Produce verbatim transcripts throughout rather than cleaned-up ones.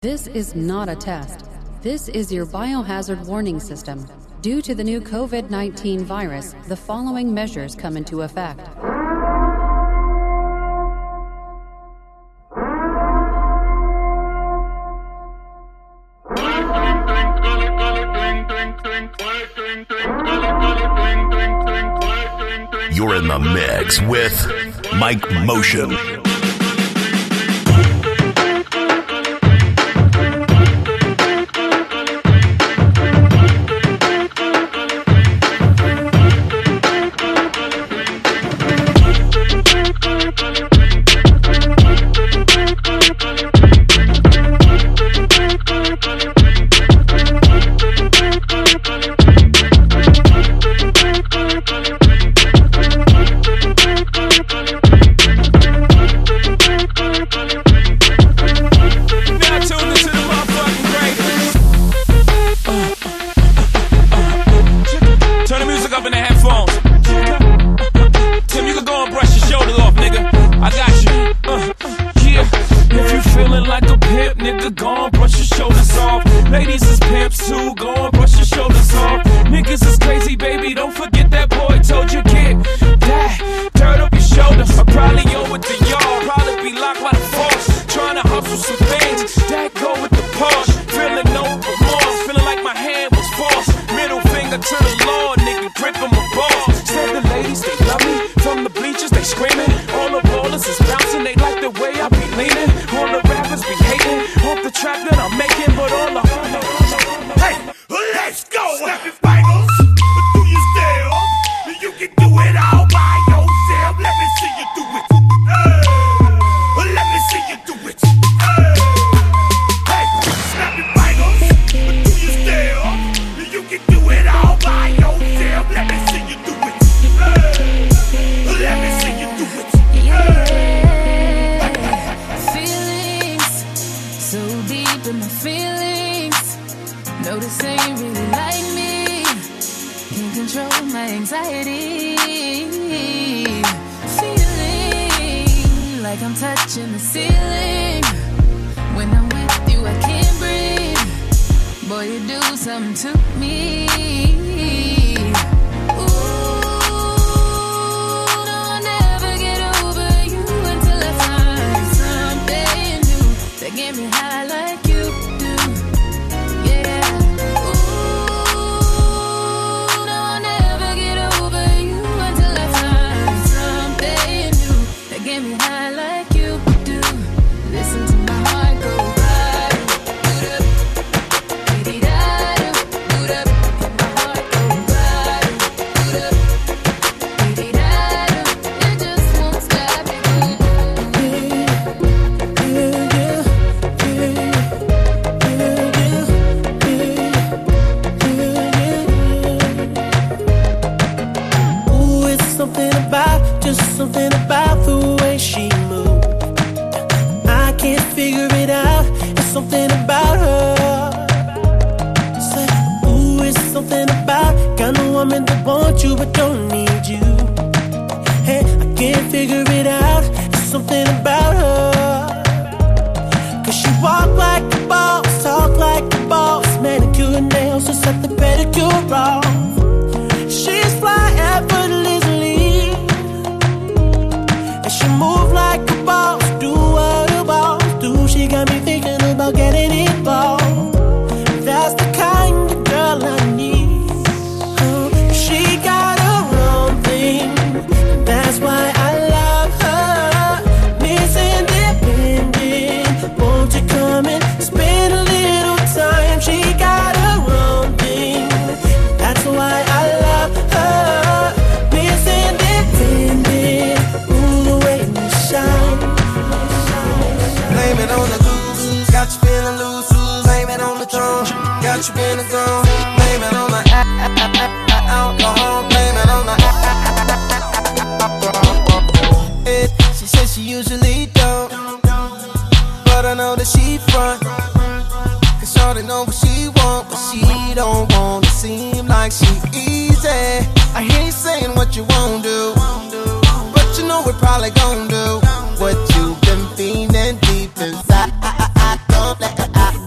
This is not a test. This is your biohazard warning system. Due to the new COVID nineteen virus, the following measures come into effect. You're in the mix with Mike Motion. Probably gonna do what you've been feeling deep inside. Don't let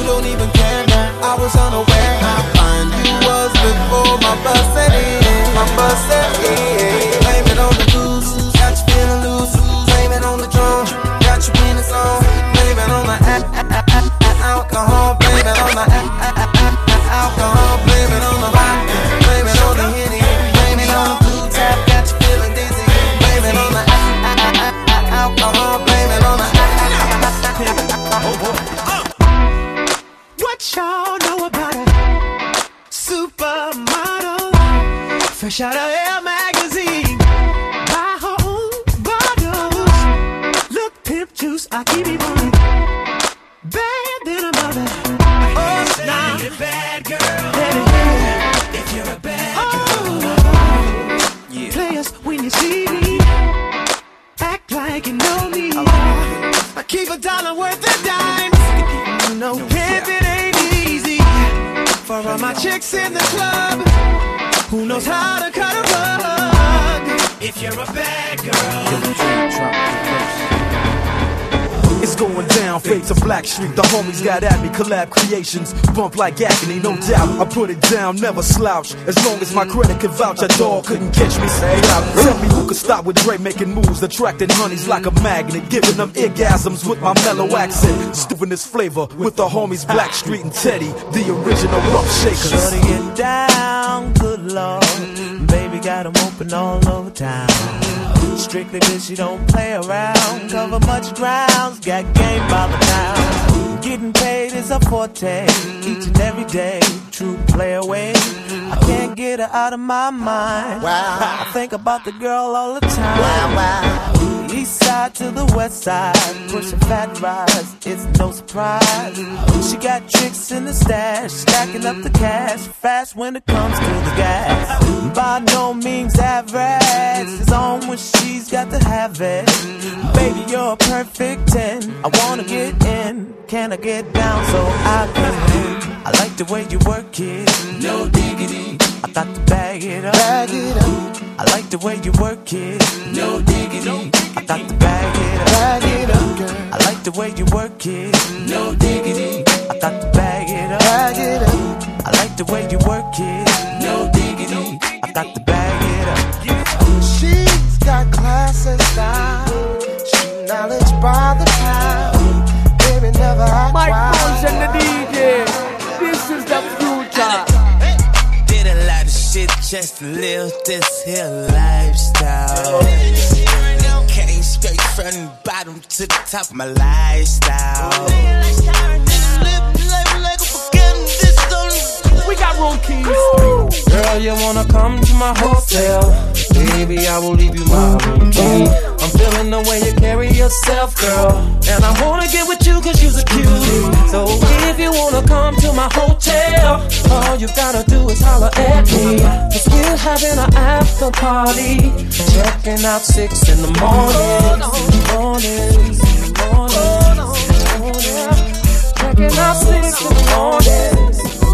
don't even care now. I was unaware how fine you was before my bus set in. My bus set in. Blame it on the booze, got you feeling loose. Blame it on the drum, got you in the song. Blame it on the alcohol. Blame it on the alcohol. Blame it on the vodka. Blame it on the Henny. Blame it on the blue tap, got you feeling dizzy. Blame it on the alcohol. Blame it on the What y'all know about a supermodel? Fresh out of Elle magazine, buy her own bottles. Look, pimp juice, I keep it on. Bad than a mother. Oh, now you're a bad girl. If you're a bad girl, oh, yeah. Players, when you see me, act like you know me. I keep a dollar worth of dimes. You know, pimping ain't easy. For all my chicks in the club, who knows how to cut a rug? If you're a bad girl. It's going down, fade to Black Street. The homies got at me, collab creations. Bump like agony, no doubt. I put it down, never slouch. As long as my credit can vouch, a dog couldn't catch me. Say out. Tell me who could stop with Dre making moves, attracting honeys like a magnet, giving them orgasms with my mellow accent. Stewing this flavor with the homies Black Street and Teddy, the original rough shakers. Shorty get down, good lord. Baby got them open all over town. Strictly bitch, you don't play around. Cover much grounds, got game by the town. Getting paid is a forte, each and every day. True play away. I can't get her out of my mind. Wow. I think about the girl all the time. Wow, wow. East side to the west side, pushing fat rides, it's no surprise. She got tricks in the stash, stacking up the cash, fast when it comes to the gas. By no means average, it's on when she's got to have it. Baby, you're a perfect ten, I wanna get in, can I get down so I can win? I like the way you work it, no diggity, I got to bag it up, bag it up. I like the way you work it, no diggity, I got to bag it up, bag it up, girl. I like the way you work it, no diggity, I got to bag it up, bag it up. I like the way you work it, no diggity, I got to bag it up. She's got class and style, she knowledge by the time. Baby never act Mike wild. Mosh and the D J, this is the future. Did a lot of shit just to live this here lifestyle. Came straight from the bottom to the top of my lifestyle. We got room keys. Girl, you wanna come to my hotel? Baby, I will leave you my room key. I'm feeling the way you carry yourself, girl, and I wanna get with you cause you're a cutie. So if you wanna come to my hotel, all you gotta do is holler at me. Cause we're having an after party, checking out six in the morning. Morning, morning, morning. Checking out six in the morning.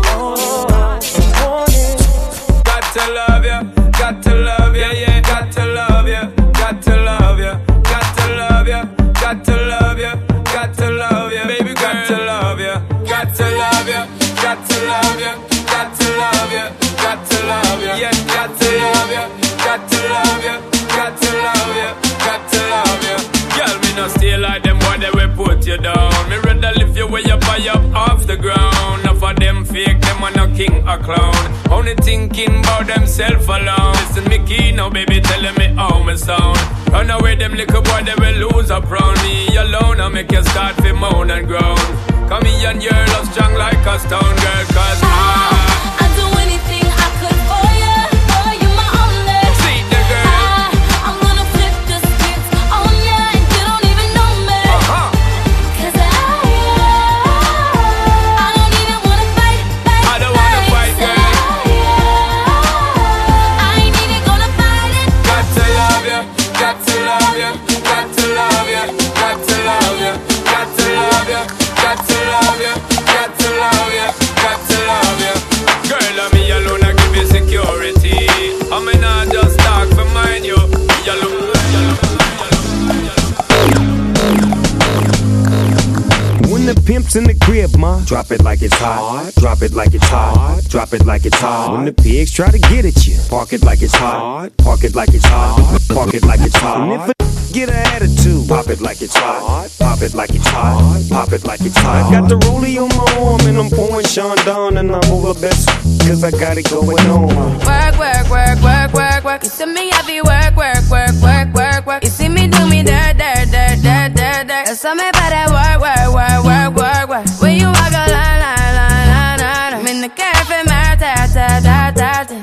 Got to love you, got to love you, yeah, got to love you, got to love you, got to love you, got to love you, got to love you, baby, got to love you, got to love you, got to love you, got to love you, got to love you, yeah, got to love you, got to love you, got to love you, got to love you. Girl, me no stay like them boy, they will put you down. Me rather lift you way up high up off the ground. Enough of them fake, them are no king or clown. Only thinking about themself alone. Listen me key now, baby, telling me how me sound. Run away them little boy, they will lose up round me alone. I make you start to moan and groan. Come here and your love strong like a stone, girl, cause I I'd do anything I could for you. For you my only. See the girl. I, I'm gonna flip the script on ya and you don't even know me. Uh-huh. Cause I, I don't even wanna fight, fight, I don't wanna fight, So girl. I, I ain't even gonna fight it. Got to love you, got to love you, got to love you, got to love you, got to love you, got to love you, got to love you. Pimps in the crib, ma. Drop it like it's hot. Drop it like it's hot. Drop it like it's hot. When the pigs try to get at you, park it like it's hot. Park it like it's hot. Park it like it's hot. And if a get an attitude, pop it like it's hot. Pop it like it's hot. Pop it like it's hot. I got the rollie on my arm and I'm pouring Sean down and I'm over best cause I got it going on. Work, work, work, work, work, work. You see me heavy work, work, work, work, work, work. You see me do me dirt, dirt, dirt, dirt, dirt, dirt. There's something about that work, work, work, work, work, work. When you walk a line, line, line, line, line. I'm in the cafe, my ta, ta, ta, ta, ta.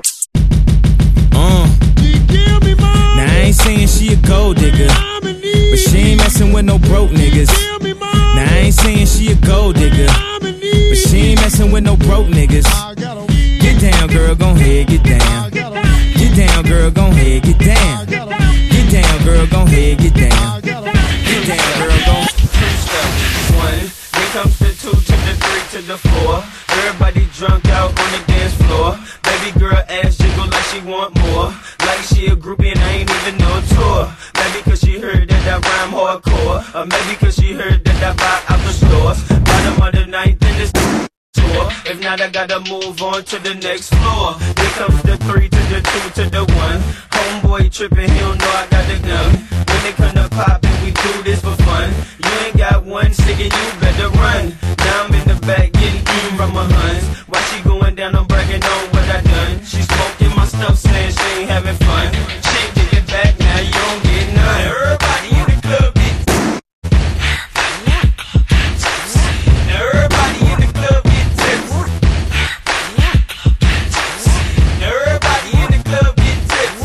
Uh. Now I ain't saying she a gold digger, but she ain't messing with no broke niggas. Now I ain't saying she a gold digger, but she ain't messing with no broke niggas. Get down, girl, gon' head, get down. Get down, girl, gon' head, get down. Get down, girl, gon' head, get down. Get down, girl, gon' one. Then comes the two to the three to the four. Everybody drunk out on the dance floor. Baby girl ass jiggle like she want more. Like she a groupie and I ain't even no tour. Maybe cause she heard that I rhyme hardcore. Or maybe cause she heard that I buy out the stores. Bottom of the ninth in this tour. If not, I gotta move on to the next floor. Here comes the three to the two to the one. Homeboy tripping, he don't know I got the gun. When they come to poppin', we do this for fun. You ain't got one stick and you better run. Now I'm in the back getting eaten from my huns. Why she going down, I'm bragging on what I done. She smoking my stuff, saying she ain't having fun. She ain't get it back, now you don't get none. Everybody in the club get now everybody in the club get tips. Now everybody in the club get tips.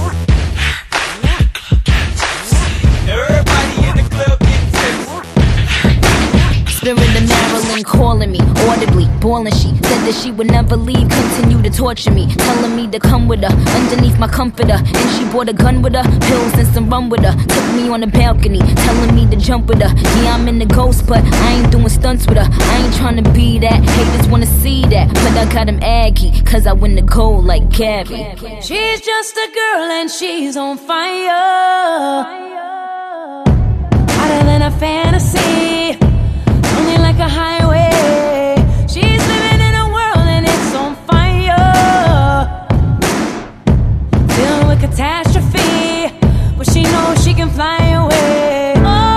Now everybody in the club get tips. Spirit of Maryland calling me audibly, bawling. She said that she would never leave, continue to torture me, telling me to come with her underneath my comforter. And she brought a gun with her, pills and some rum with her. Took me on the balcony, telling me to jump with her. Yeah, I'm in the ghost, but I ain't doing stunts with her. I ain't trying to be that, haters wanna see that, but I got him aggy, cause I win the gold like Gabby. She's just a girl and she's on fire, hotter than a fantasy, only like a highway. She's living in a world and it's on fire, filled with catastrophe, but she knows she can fly away.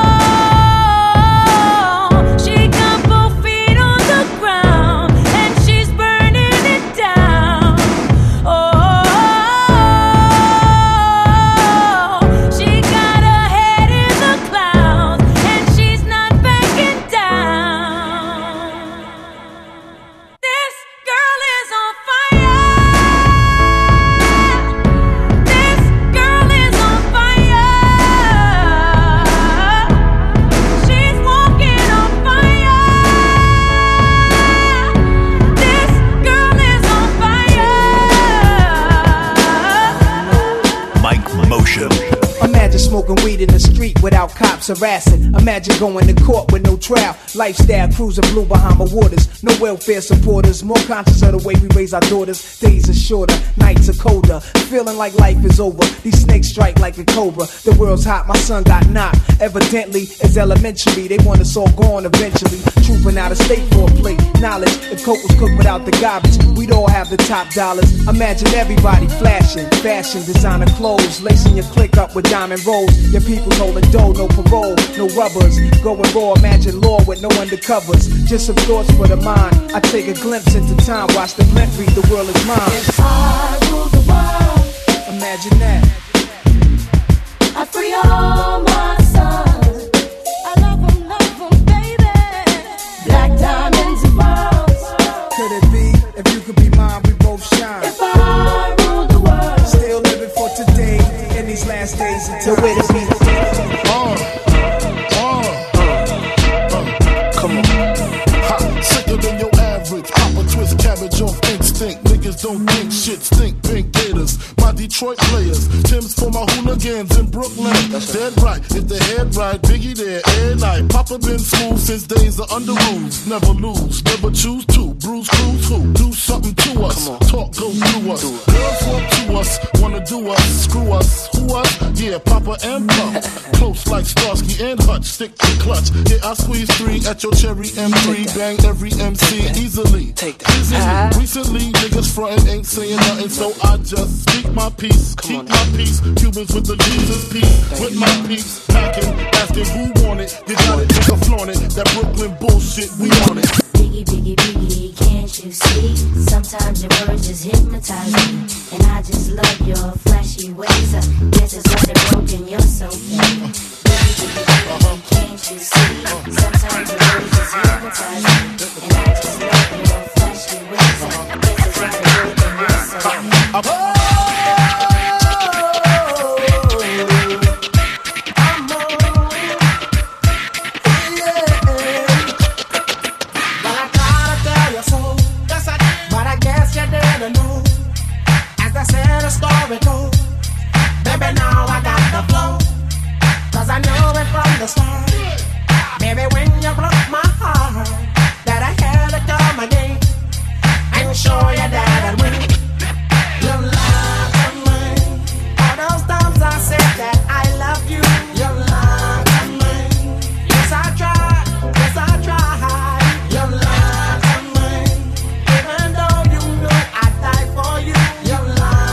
Oh, she got both feet on the ground and she's burning it down. Oh, she got her head in the clouds and she's not backing down. This girl is on fire. This girl is on fire. She's walking on fire. This girl is on fire. Mike Motion. Imagine smoking weed in the street without cops harassing. Imagine going to court with no trial. Lifestyle cruising blue Bahama waters. No welfare supporters. More conscious of the way we raise our daughters. Days are shorter, nights are colder. Feeling like life is over. These snakes strike like a cobra. The world's hot, my son got knocked. Evidently, it's elementary. They want us all gone eventually. Trooping out of state for a plate. Knowledge, if coke was cooked without the garbage, we'd all have the top dollars. Imagine everybody flashing, fashion, designer clothes, lacing your click up with diamond rolls. Your people's holding dough, no parole, no rubbers. Going raw, imagine law with no undercovers. Just some thoughts for the mind. I take a glimpse into time, watch the glint read, the world is mine. If I rule the world, Imagine that. I free all my sons. I love them, love them, baby. Black diamonds and pearls. Could it be? If you could be mine, we both shine. If I rule the world, Still living for today, in these last days until where to be. Uh, uh, uh, come on. Ha, sicker than your average. Pop a twist cabbage off instinct. Niggas don't think shit stink. Pink gators, my Detroit players. Tim's for my hooligans in Brooklyn. That's dead right. If the head right, Biggie there every night. Papa been smooth since days of under rules. Never lose, never choose to. Bruise, cruise, who? Do something to us. Talk goes through us. Girls want to us. us, wanna do us, screw us, who us? Yeah, Papa and Pump. Close like Starsky and Hutch, stick to clutch. Yeah, I squeeze three at your cherry M three, bang every M C easily. Take that. Easily. Recently, niggas frontin' ain't saying nothing, so I just speak my peace, keep my peace. Cubans with the Jesus peace, with my peace, packing, asking who want it. You got it, nigga flaunt it. That Brooklyn bullshit, we on it. Biggie, biggie, biggie, can't you see? Sometimes your words just hypnotize me, and I just love your flashy ways. Uh, guess it's why they're broken, you're so fake. Biggie, biggie, biggie, can't you see? Sometimes your words just hypnotize me, and I just love your flashy ways. Uh, guess it's why they're broken, you're so fake. Story goes, baby, now I got the flow, cause I knew it from the start. Baby, when you broke my heart, that I had to come again and show you that I'd win. You lied to me, all those times I said that I love you. You lied to me, yes I tried, yes I tried. You lied to me, even though you knew I'd die for you. You lied.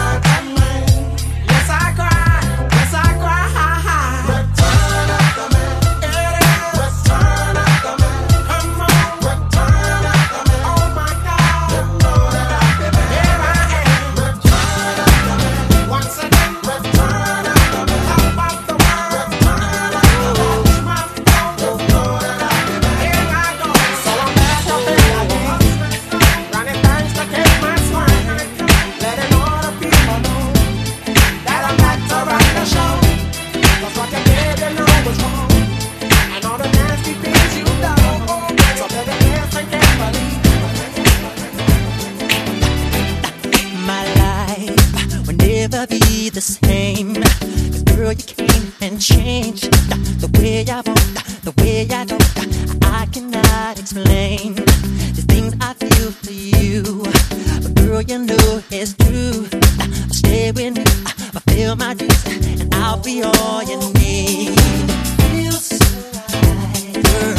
The same, 'cause girl, you came and changed the way I want, the way I don't. I cannot explain the things I feel for you, but girl, you know it's true. Stay with me, fulfill my dreams, and I'll be all you need. Feels so right, girl.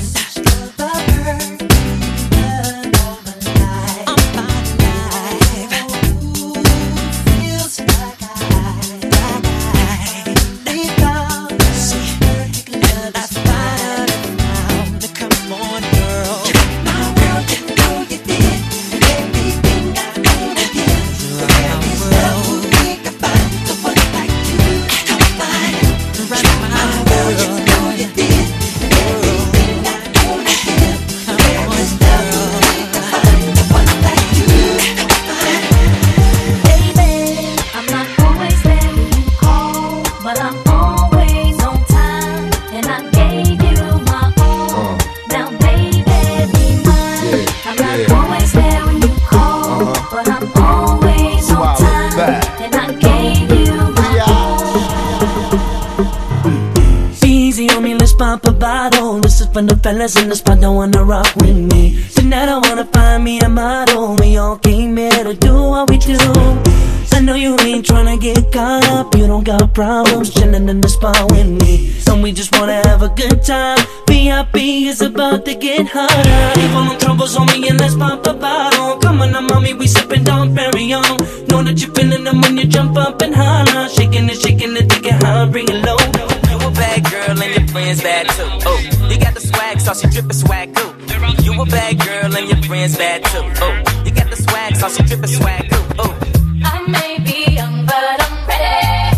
From the fellas in the spot don't wanna rock with me. Tonight I wanna find me a model. We all came here to do what we do. I know you ain't tryna get caught up. You don't got problems chilling in the spot with me. And we just wanna have a good time. V I P is about to get harder. Leave all them troubles on me and let's pop a bottle. Come on now mommy, we sippin' Don Perignon. Know that you're feeling them when you jump up and holler. Shaking it, shaking it, take it high, bring it low. You a bad girl and your friends bad too. Oh, you got the swag, sauce, you drippin' swag too. You a bad girl and your friends bad too. Oh, you got the swag, sauce, you drippin' swag too. Oh, I may be young, but I'm ready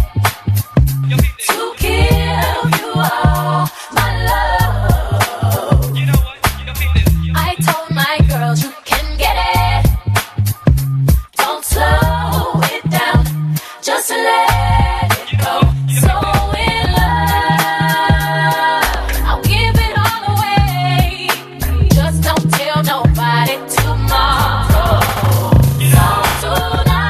to give you all my love. I told my girls you can get it. Don't slow it down, just let it go. So in love, I'll give it all away. Just don't tell nobody tomorrow. So tonight.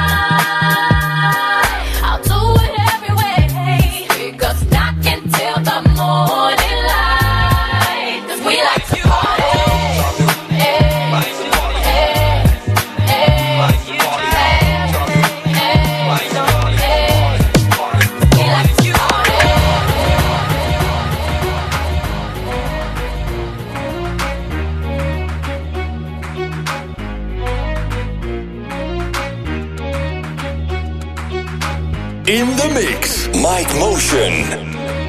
In the mix, Mike Motion.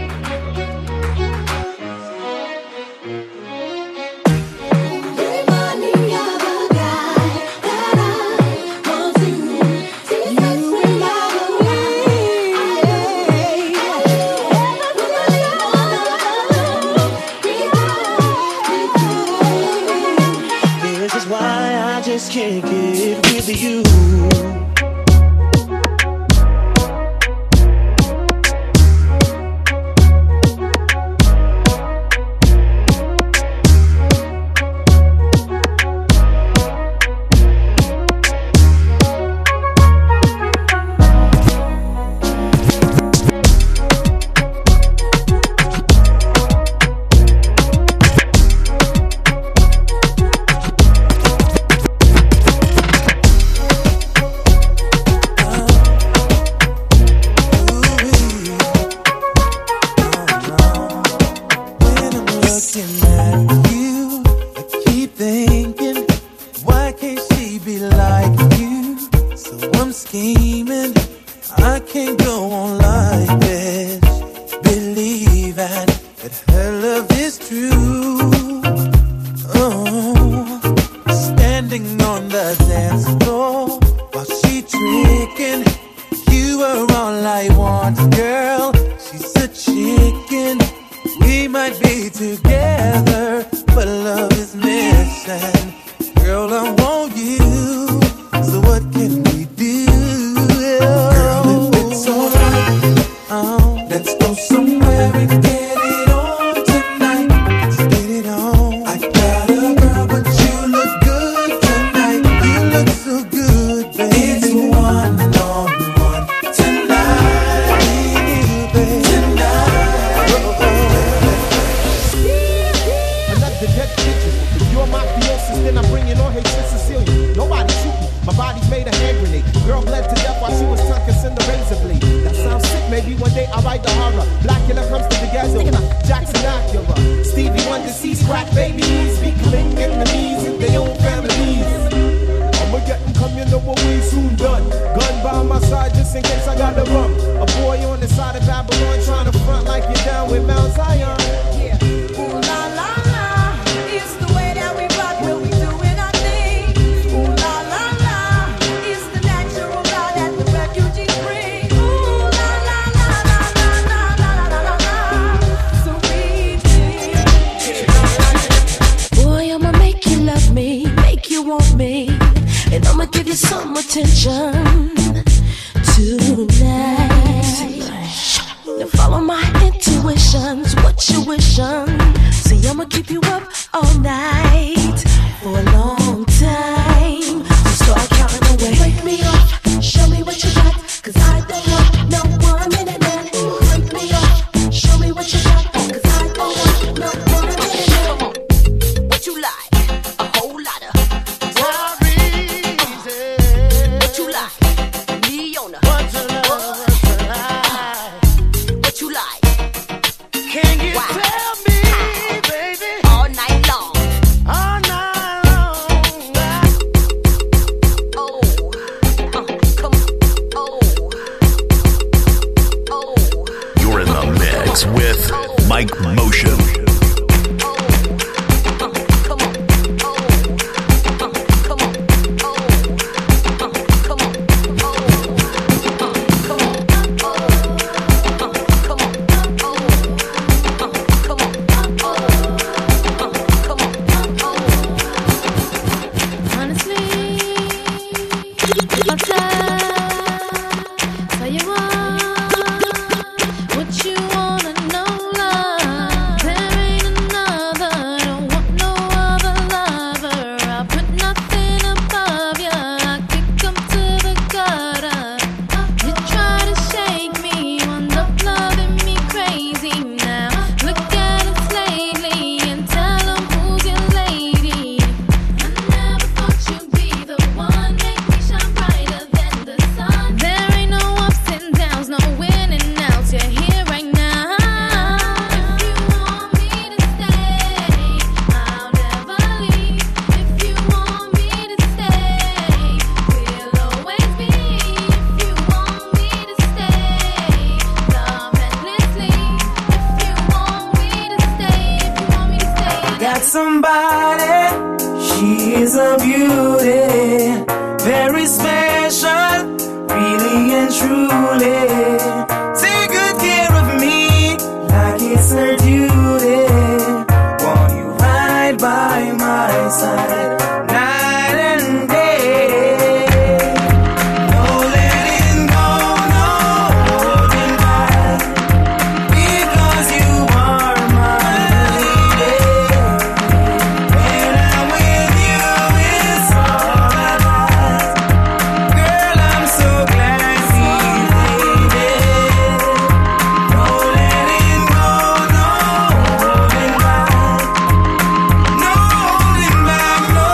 Can't get with you. Can you tell me, baby? All night long. All night long. beauty, very special, really and truly. Take good care of me, like it's her duty. Won't you ride by my side, night and day? No letting go, no holding back, because you are my lady. When I'm with you, it's all I got. Girl, I'm so glad we made it. No letting go, no holding back, no holding back, no,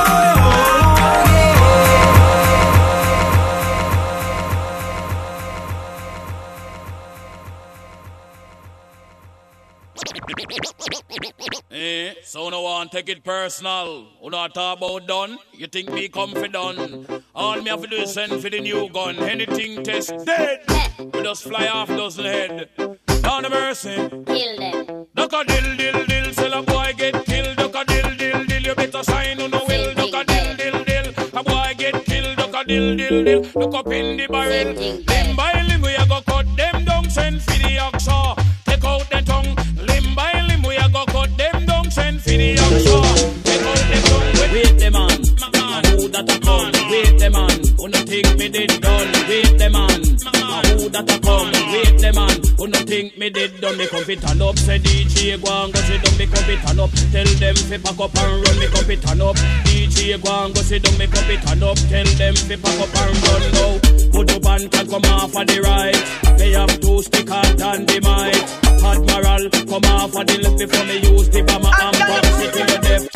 Eh, so no one take it personal. Who not talk about done? You think me confident? All me have to do is send for the new gun. Anything test dead. We just fly off dozen head. Down the mercy. Kill them. Duck a dill dill dill. Sell a boy get killed. Duck a dill dill dill. You better sign on the will. Duck a dill dill dill. A boy get killed. Duck a dill dill dill. Look up in the barrel. Limb by limb we a go cut them down. Send for the oxa. Take out the tongue. Limb by limb we a go cut them down. Send for the oxa. Take out the tongue. Wait the man. Who that a come? Wait the man. Who no think me did done? Wait the man. Who that a come? Wait the man. Who no think me did done? Me come fit turn up. Say D J go and go sit down. Me come fit turn up. Tell them fi pack up and run. Me come fit turn up. D J go and go sit down. Me come fit turn up. Tell them fi pack up and run now. Put up and can come off of the right. They have two stick hard and the mic. Admiral come off of the left before me use the bomber and pop it to your death.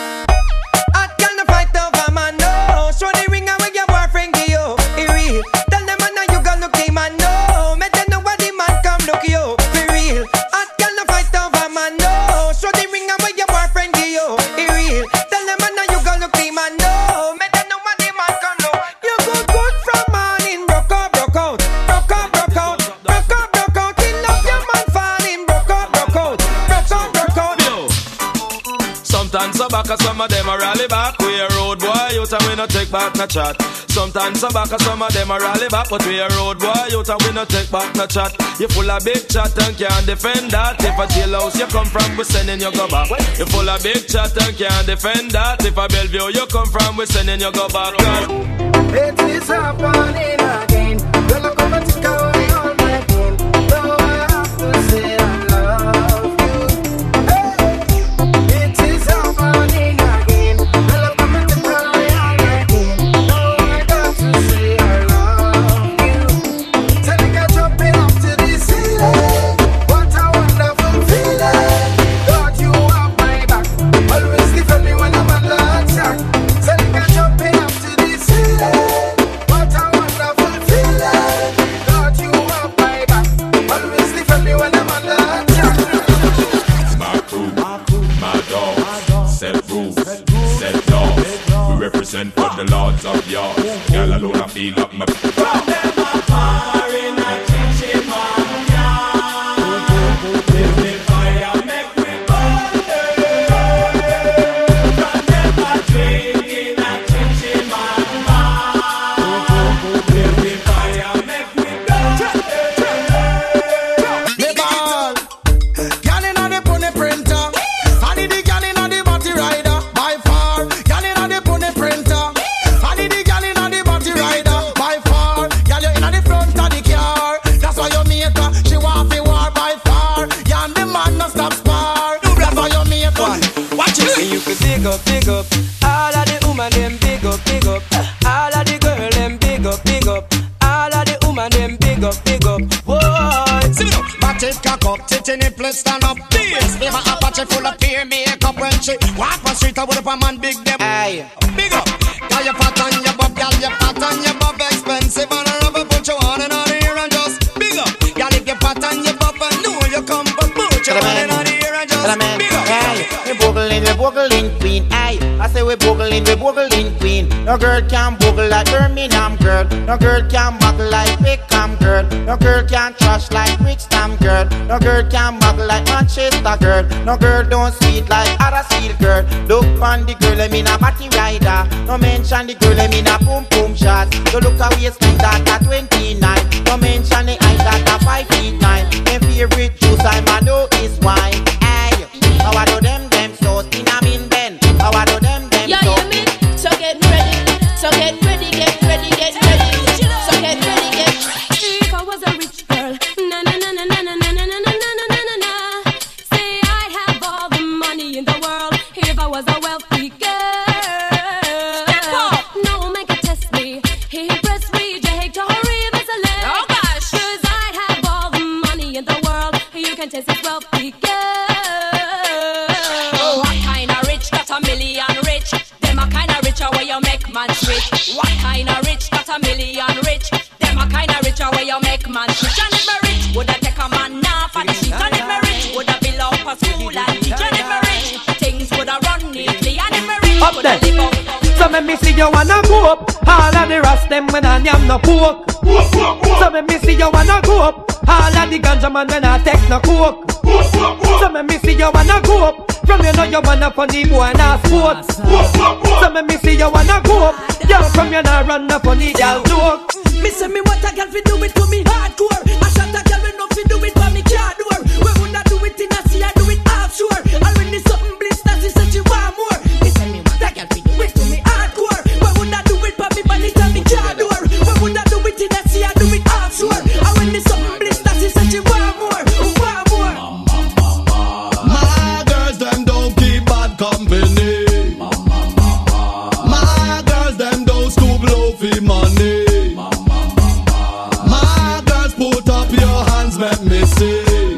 I can't fight over man, no. Show the ring away your boyfriend give you. It real. Tell them man now you gon' look the man, no. Make them know what the man come look you. For real. I can't fight over man, no. Show the ring away your boyfriend give you. It real. Tell them man now you gon' look the man, no. Make them know what the man come look. You go good from morning, broke out, broke out, broke out, broke out, broke out, broke out. He love your man falling, broke out, broke out, broke out, broke out. Sometimes so back, some of them a rally back. We a road boy out and we no take back no chat. Sometimes so back, some of them a rally back, but we a road boy out and we no take back no chat. You full of big chat and can't defend that. If a jailhouse you come from, we sending you go back. You full of big chat and can't defend that. If a Bellevue you come from, we sending you go back. It is happening again. Girl, I come and take away all my pain. Though I have to say I love you. Hey, it is happening again. Girl, I come and take away all my pain. Though I got to say I love you. Tell me get jumping up to the ceiling. What a wonderful feeling. Got you off my back. Always defend me when I'm under attack. Tell me get jumping up to the ceiling. What a wonderful feeling. Got you off my back. Always defend me when I'm under attack. My crew, my dogs, set rules, set laws. We represent for the lords of yours. Girl alone I feel up my Girl inna the pony printer, I need the girl inna the body rider. By far, girl inna the pony printer, I need the girl inna the body rider. By far, girl you inna the front of the car. That's why you make her, she want fi war. By far, you and the man no stop spar. That's why you make her. Watch it. And you can dig up, dig up. All of the woman them big up, big up. All of the girl them big up, big up. All of the woman them big up, big up. Whoa. See me now, back it cock up, tit in the place stand up. Bass, give her a patch full of peer makeup when she walk on street. I would have a man big them. Aye, big up. Girl you fat and you bob, girl you fat and you bob, expensive and I rubber put you on and on here and just big up. Girl if you fat and you bob, I know you come but put you on and on here and just big up. Aye, we boggling, we boggling queen. Aye, I say we boggling. boogling, we boogling queen. No girl can boogle like Birmingham girl. No girl can muggle like Wickham girl. No girl can trash like Brixton girl. No girl can muggle like Manchester girl. No girl don't sweet like Huddersfield girl. Look on the girl, I mean a batty rider. No mention the girl, I mean a boom boom shot. So look a waistline that a twenty-nine. No mention the eye that a five feet nine. My favorite juice I'm a know is wine. Hey, how I do them them so in a mean Ben. How I do them them yeah, so. Yeah, you mean? So get ready, so get ready, get ready, get ready. So get ready, get ready. If I was a rich girl, na na na na na na na na na na na na na na. Say I'd have all the money in the world if I was a wealthy girl. No man can test me. He impressed me. Jake to hurry, there's a leg. Oh gosh, 'cause I'd have all the money in the world. You can test this wealthy girl. Oh, what kind of rich got a million rich? Them a kind of richer where you make man rich. What kind of rich got a million rich? Them a kind of richer where you make man rich. And if me rich, would I take a man now for the sheet? And if me rich, would I build up a school and teach? And if me rich, things would I run neatly. And if me rich, up would I there. live up. So let me see you wanna go up. All of the rest them when I am no pork. So let me see you wanna go up. All of the ganja man when I take no coke. So let me see you wanna go up. From you know you wanna funny boy and a sports. So let me see you wanna go up. Yo, from you know run a funny girl joke. Me say me what a girl fi do it for me hardcore. I shot a girl we no fi do it for me car door. We woulda do it in a sea, I do it offshore. And when the something blister, she say she want more. Me say me what a girl fi do it for me hardcore. We woulda do it for me bonnet and me car door. We woulda do it in a sea, I do it offshore. And when the something blister, she say she want more, want more. My girls them don't keep bad company. My girls them don't stoop low for money. My girls put up your hands, let me see.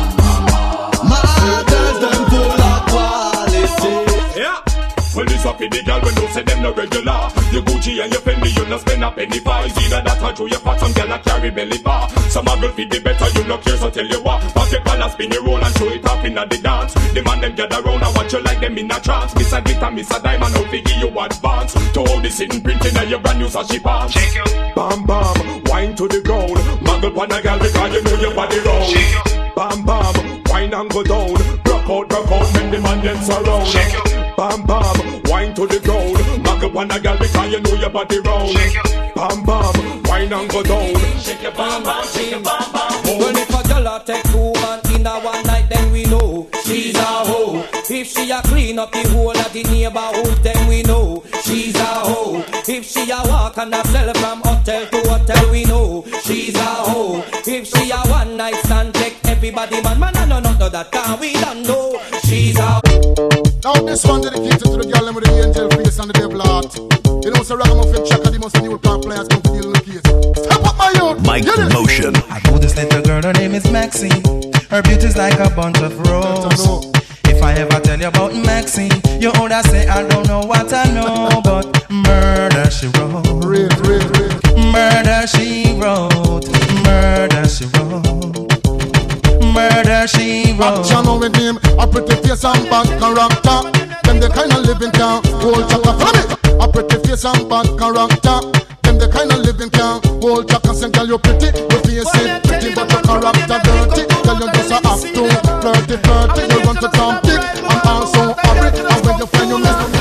My girls them full of quality. Yeah. Well, this up in the girl when you say them no regular. Your Gucci and your Fendi, you no spend a penny for. It's either that or through your pot, some girl a carry belly bar. Some a girl feed the better, you no care, so tell you what. Pop your collar, spin your roll and show it up in the dance. The man them gather round and watch you like them in a trance. Miss a glitter, miss a diamond, how to give you advance. To all the sitting printing and your brand new sashi pants. Bam bam, wine to the ground. Muggle on a girl because you know your body round. Bam bam, wine and go down. Rock out, rock out, make the man them surround. Bam bam, wine to the ground. Muggle on a girl because you know your body round. Bam bam, wine and go down. Shake your bam bam, shake your bam bam. Well, if a girl a take two man in a one night, then we know she's a hoe. If she a clean up the whole of the neighborhood, then we know she's a hoe. If she a walk and a sell from hotel to hotel, we know she's a hoe. If she a one night stand, take everybody man, man, I know not know that can we don't know she's a. Now this one dedicated to the girl with the angel face and the devil heart. You know, so Ragamuffin Chaka, the most new park players come to deal in the case. Step up my youth! Mike Motion. I know this little girl, her name is Maxine. Her beauty's like a bunch of roses. If I ever tell you about Maxine, you older say I don't know what I know, but murder she wrote. Real, real, real. Murder she wrote. Murder she wrote. Murder she wrote. Action with him, a pretty face and bad character. Them the kind of living can hold Chaka. Follow me. A pretty face and bad character. Them the kind of living can hold Chaka. Say girl you pretty, your face is pretty, but your character dirty. Girl you just a act too flirty, flirty. You run to Tom Dick and also hurry. And when you find you miss me.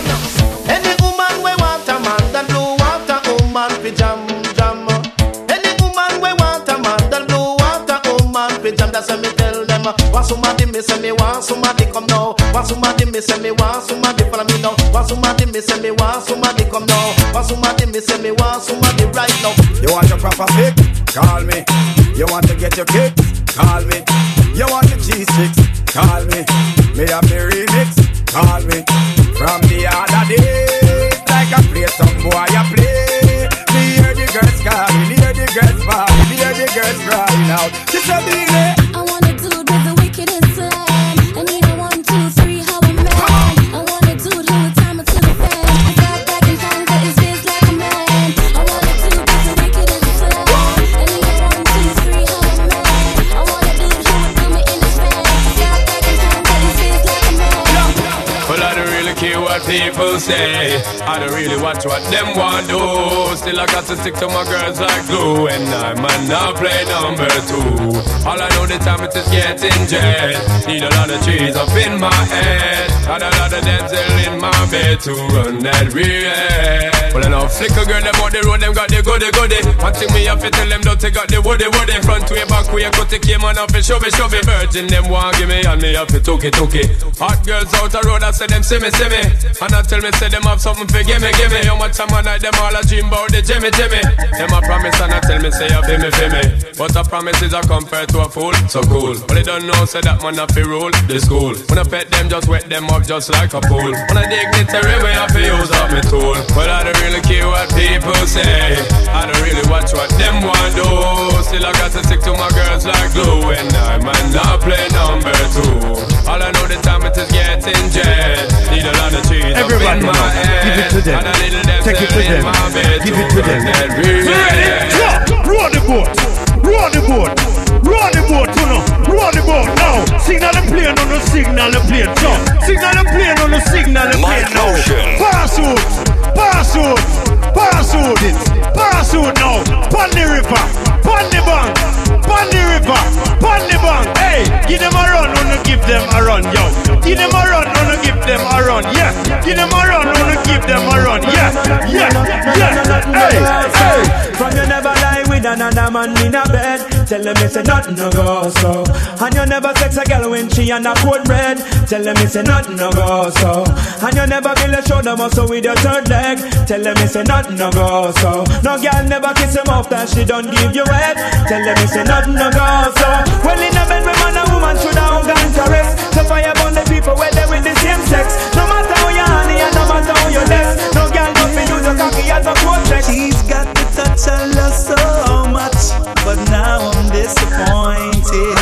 Any woman we want a man that blue want a woman fi jam jam. Any woman we want a man that blue want a woman fi jam. That's what me tell them. Want somebody me say me want somebody come now. Want somebody me say me want somebody follow me now. Want somebody me say me want somebody come now. Want somebody me say me want somebody right now. You want your proper fix? Call me. You want to get your kick? Call me. You want the cheese sticks? Call me. Me have the remix? Call me. From the other day, like I play some boy I play. Me hear the girls calling, hear the girls falling, hear the girls crying out. It's a big day. I wanna do it with the wickedest slam. I need a one, two, three, how I'm mad. I wanna do it who time to the fan. I got back in time, but it's biz like a man. I wanna do it with the wickedest slam. I need a one, two, three, how I'm mad. I wanna do it who do me in the fan. I got back in time, but it's biz like a man. Well, I don't really say. I don't really watch what them want do. Still I got to stick to my girls like glue. And I might not play number two. All I know the time it is getting jet. Need a lot of trees up in my head. Got a lot of dental in my bed to run that real. Well I know flicker girl them on the road, them got the goody goody. One thing me have to tell them don't take out the woody woody. Front way, back way, cut the came on off and show me show me. Virgin them want give me and me have to took it took it. Hot girls out the road I say them see me see me. And I tell me say them have something for give me give me. How much time I night them all a dream about the Jimmy Jimmy. Them a promise and I tell me say you feel me feel me. But a promise is a compared to a fool, so cool. But they don't know say that man have to rule the school. When I pet them just wet them up just like a pool. When I dignitary way I have to use up my tool. But I don't really care what people say. I don't really watch what them want do. Still I got to stick to my girls like glue. And I might not play number two. All I know the time it is getting jet. Need a lot of cheese Everybody up in my head. Give it to them. And a little them Take it to them. Give it to them. Ready? Roll the boat. Roll the boat. Roll the boat, you know. Roll the boat now. Signal the plane on the signal the plane. So, signal the plane on the signal the plane now. Pass out. Pass out. Pass out it. Pass out now. Pon the river. Pon the bank. Pon the river. Pon the bank. Hey, give them a run. Wanna give them a run, yo. Give them a run. Wanna give them a run. Yeah. Give them a run. Wanna give them a run. Yeah. Yeah. Yeah. Hey. Hey. From you never lie with another man in a bed. Tell them it's a nothing no go so. And you never sex a girl when she on a cold bread. Tell them it's a nothing no go so. And you never build a shoulder muscle with your third leg. Tell them it's a nothing no go so. No girl never kiss him off that she don't give you head. Tell them it's a nothing no go so. Well in a bed with man a woman should have gone to rest. So fire upon the people where they with the same sex. No matter how you honey and no matter how you less. No girl don't be use a cocky as a cortex. She's got the touch I love so much, but now I'm disappointed.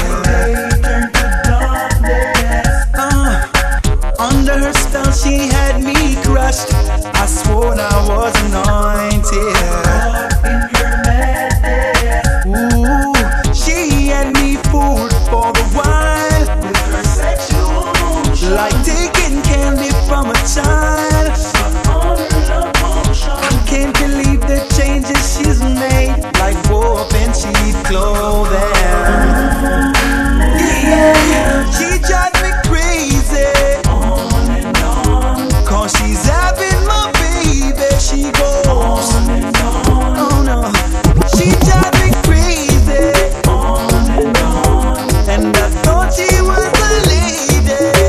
Uh, under her spell she had me crushed. I swore I was anointed. Ooh, she had me fooled for a while with her sexual motion, like taking candy from a child. I can't believe the changes she's made, like warp and cheap clothing. Yeah, she drives me crazy. On and on, cause she's having my baby. She goes on and on. Oh no, she drives me crazy. On and on, and I thought she was a lady.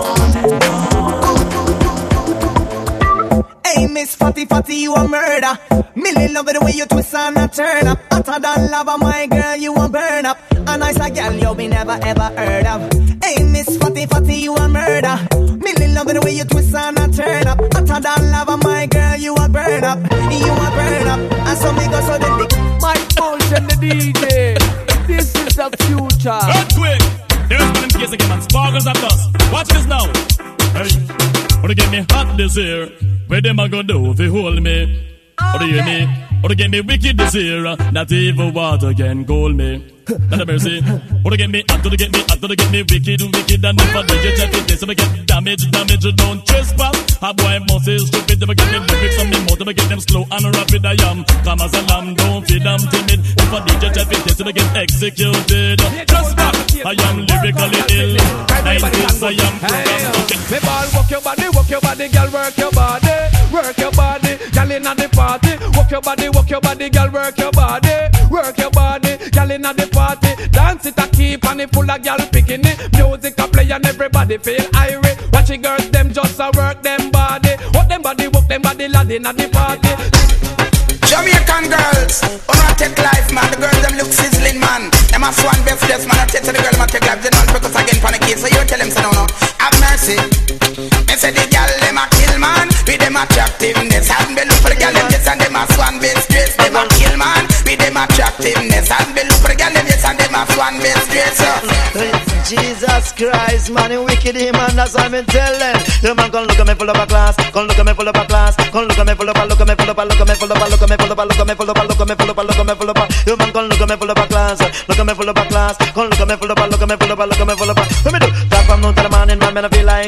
On and on. Hey, Miss Fatty Fatty, you a murder. Millie love the way you twist and a turn up. Hotter than lava, my girl, you a burn up. A nice a girl you be never ever heard of. Hey, Miss Fatty Fatty, you a murder. Millie love the way you twist and a turn up. Hotter than lava, my girl, you a burn up. You a burn up. And so me go so the dick. My Motion, the D J. This is the future. Earthquake. There's one in case again, man. Sparkles at us. Watch this now. Hey, wanna get me hot this year? Where them a go do if they hold me? Or do you hear me? Or to get me wicked this year? Not even water can cool me. Not a mercy. Or to get me hot, to get me hot, to get me wicked, wicked. And if I do you check it, this I get damage, damage. Don't trespass. A boy must is stupid. They get them lyrics on me more. They get them slow and rapid. I am come as a lamb. Don't feed them timid. If I do you check it, this I get executed. Trespass. I am lyrically ill. nineties I am programmed. Me ball, walk your body, walk your body, girl, work your body, work your body, girl inna the party. Walk your body, walk your body, girl, work your body, work your body, girl inna the party. Dance it a keep and it full of girl picking it. Music a play and everybody feel irate. Watch the girls them just a work them body, walk them body, walk them body, lad inna the party. Jamaican girls, on a take life, man. The girls them look sizzling, man. Them a swan best dress, man. I take to the girl, man. Take life, they don't focus again for the kids. So you tell them, say no, no. Have mercy. Me say the girl them a kill, man. With them attractiveness, and be look for the girl them yes, and them a swan best dress. Them a kill, man. With them attractiveness, and be look for the girl them yes, and them a swan best dress. Jesus Christ, man, you wicked him, man. That's what I'm telling. The man come look at me full of a class, come look at me full of a class, come look at me full of a, look at me full of a, look at me full of a, look at me. Full up, look at me, full up, look at me, full up, look at me, full up. You man come look at me, full up a class, look at me, full up a class. Come look at me, full up, look at me, full up, look at me, full up. Let me do that from noon to the morning, man. Man, I feel like Christopher.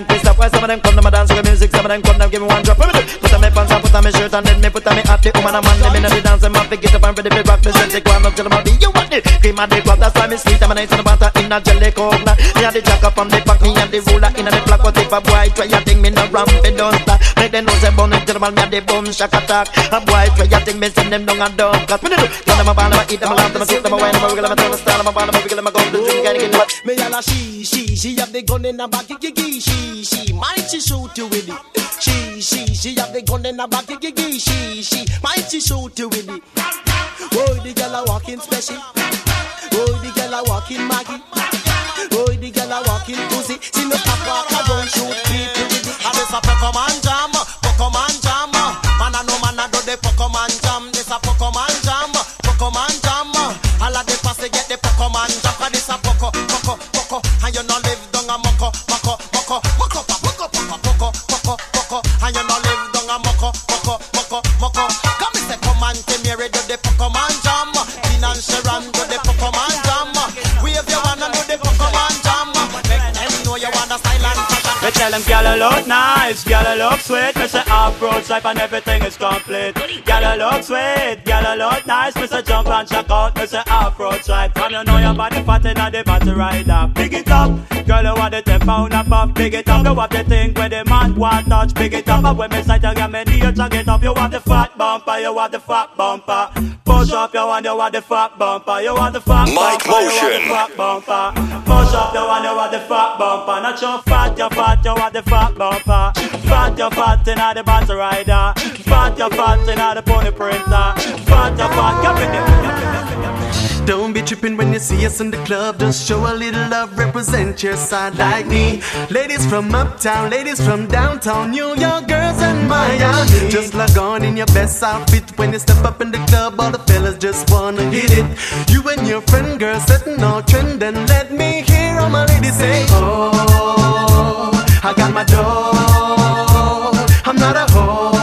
why some of them come to my dance with music, some of them come down give me one drop. Put on my pants and put on my shirt and then me put on me hat. The woman and man, them in the dance, them have to get up and ready to rock. Me say take one up till I'm out. You want it? Cream and the crop, that's why me sweet. I'm a nice and the butter in a jelly coke. Me and the jacker from the back, me and the ruler in the black. What if a boy try a thing, me no ramp it don't stop. Make them know say bun it till the man, me and the boom shack attack. A boy try a thing, me send them down and down. Cause me do, tell them a ball, them a eat them a laugh, them a sit, them a wine, them a wiggle, them a turn a style, them a ball, them a wiggle, them a go to the gym, can't get what. Me and a she, she, she have the gun in her back, gigi, she, she, might she shoot you with it. She, she, she have the gun in her back, gigi, she, she, might she shoot you with it. Oh, the girl a walking special. Oh, the girl a walking Maggie. Oh, the girl a walking pussy. She no pop walk a don't shoot people with it. And this a Pokemon jam, Pokemon jam. Man a no man a do the Pokemon jam. This a Pokemon jam, Pokemon jam. All of the passe get the Pokemon jam. Cause this a Poco, Poco, Poco. And you no live down a Moko, Moko, Moko, Moko, Moko, Moko, Moko, Moko, Moko. And you no live down a Moko, Moko, Moko, Moko. Come and say come and come here do the Pokemon jam. Financial run do the Pokemon jam. We if you wanna do the Pokemon jam. Make them know you want a style and fashion. We tell them gyal look nice, gyal look sweet. Me say approach life and everything is complete. Gyal look sweet, gyal look nice. Me say jump and check out. Me say approach life. From you know your body fat inna the body rider. Big it up, girl you want the ten pound a pop. Big it up, you want the thing where the man want touch. Big it up, and when me sight you get me knee, you check it up. You want the fat bumper, you want the fat bumper. Push up, you want, you want the fat bumper. You want the fat Mike bumper, you want Motion. the fat bumper. Push up, you want, you want the fat bumper. Not your fat, you fat, you want the fat bumper. Fat, you fat inna the body rider. Fat, you fat inna the pony printer. Fat, you fat, get with it. Don't be tripping when you see us in the club. Just show a little love, represent your side like me. Ladies from uptown, ladies from downtown, New York girls and Miami. Just log on in your best outfit when you step up in the club. All the fellas just wanna hit it. You and your friend girl setting all trend, and let me hear all my ladies say, oh, I got my dough. I'm not a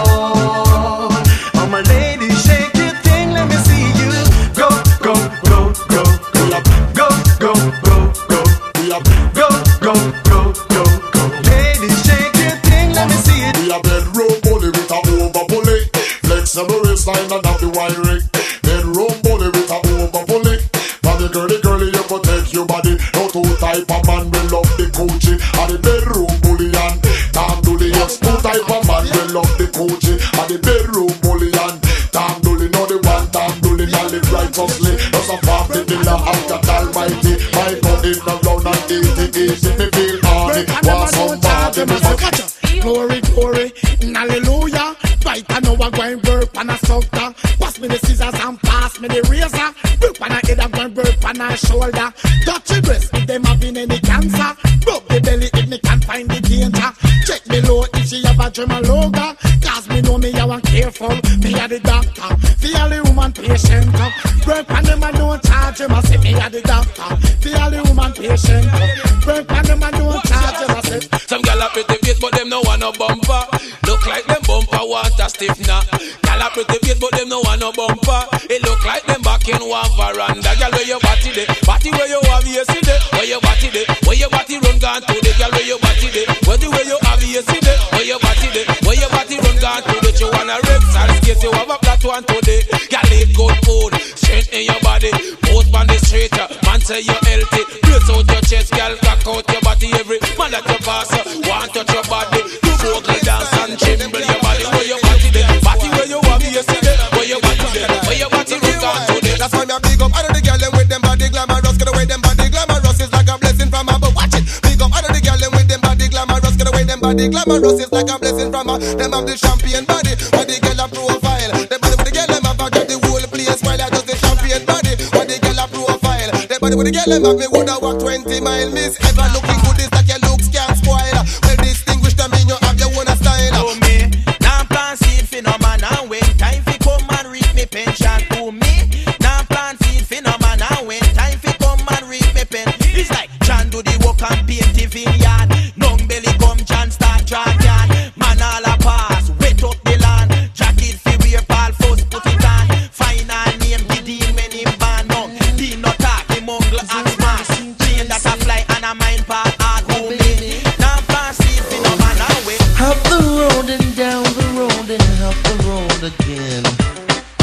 hoe. All my ladies shake your thing, let me see you go, go, go, go, go, go, go, go, go, go, go, go, go, go. Ladies shake your thing, let me see it. We a bedroom bully with a over bully. Flexible waistline and have the wide rig. Bedroom bully with a over bully. Body girly girly, you protect your body. No two type of man will love the coochie. And the bedroom bully and damn dully. Yes, two type of man will love the coochie. And the bedroom bully and damn dully. No the one damn dully, now live righteously. Just a family dinner after Almighty. My God in the round and easy, easy. Me feel horny. Want somebody me fuck. Glory, glory, hallelujah. Right, I know I'm going burp and a sucker. Pass me the scissors and pass me the razor. Burp on a head, I'm going burp on a shoulder. Touch the breast if them having any cancer. Rub the belly if me can't find the danger. Check me low if she have a German logo. Cause me know me, I want careful. Me a the doctor, feel the woman patient. Burp on them and don't charge him. I say me a the doctor, feel the woman patient. Burp on them and don't charge him. I say some gal a pretty face, but them no want no bumper. Look like them bumper want a stiffener. Gal a pretty face, but them no want no bumper. It look like them back in one veranda. Gal where your body dey, body where you have yesterday. Where your body dey, where your body run gone to the gal where your body dey. Where the way you have yesterday, where your body dey, where your body run gone to the. You wanna rip, sorry, skate, you have a flat one today. Gal eat good food, strength in your body. Both on the street, man say you're healthy. Brace out your chest, gal, cock out your body. Every man that you pass, want touch your body. You vocal dance and tremble your body. Where your body dey, body where you have yesterday. Where your body dey, where your body run gone today. That's why me a big up all of the girl them with them body glamorous. Get away them body glamorous is like a blessing from above. Watch it, big up all of the girl them with them body glamorous. Get away them body glamorous is like a blessing from above. Them have the champion body, but the girl a profile. The body with the girl them have a got the whole place while I just the champion body, but the girl a profile. The body with the girl them have me woulda walk twenty mile. Miss ever looking good is like your looks can't spoil. Well distinguished them in you have your own style. To me, now plan seed phenomenon. When time fi come and reap me pension. To me, now plan seed phenomenon. When time fi come and reap me pen. It's like John do the work and paint the vineyard. Long belly come John start drag yard. Man all a pass, wet up the land. Jacket fi wear Paul first put it on. Final name the deal when him ban on. He not talk, he mungle ask man. Plane that a fly and a mind part hard.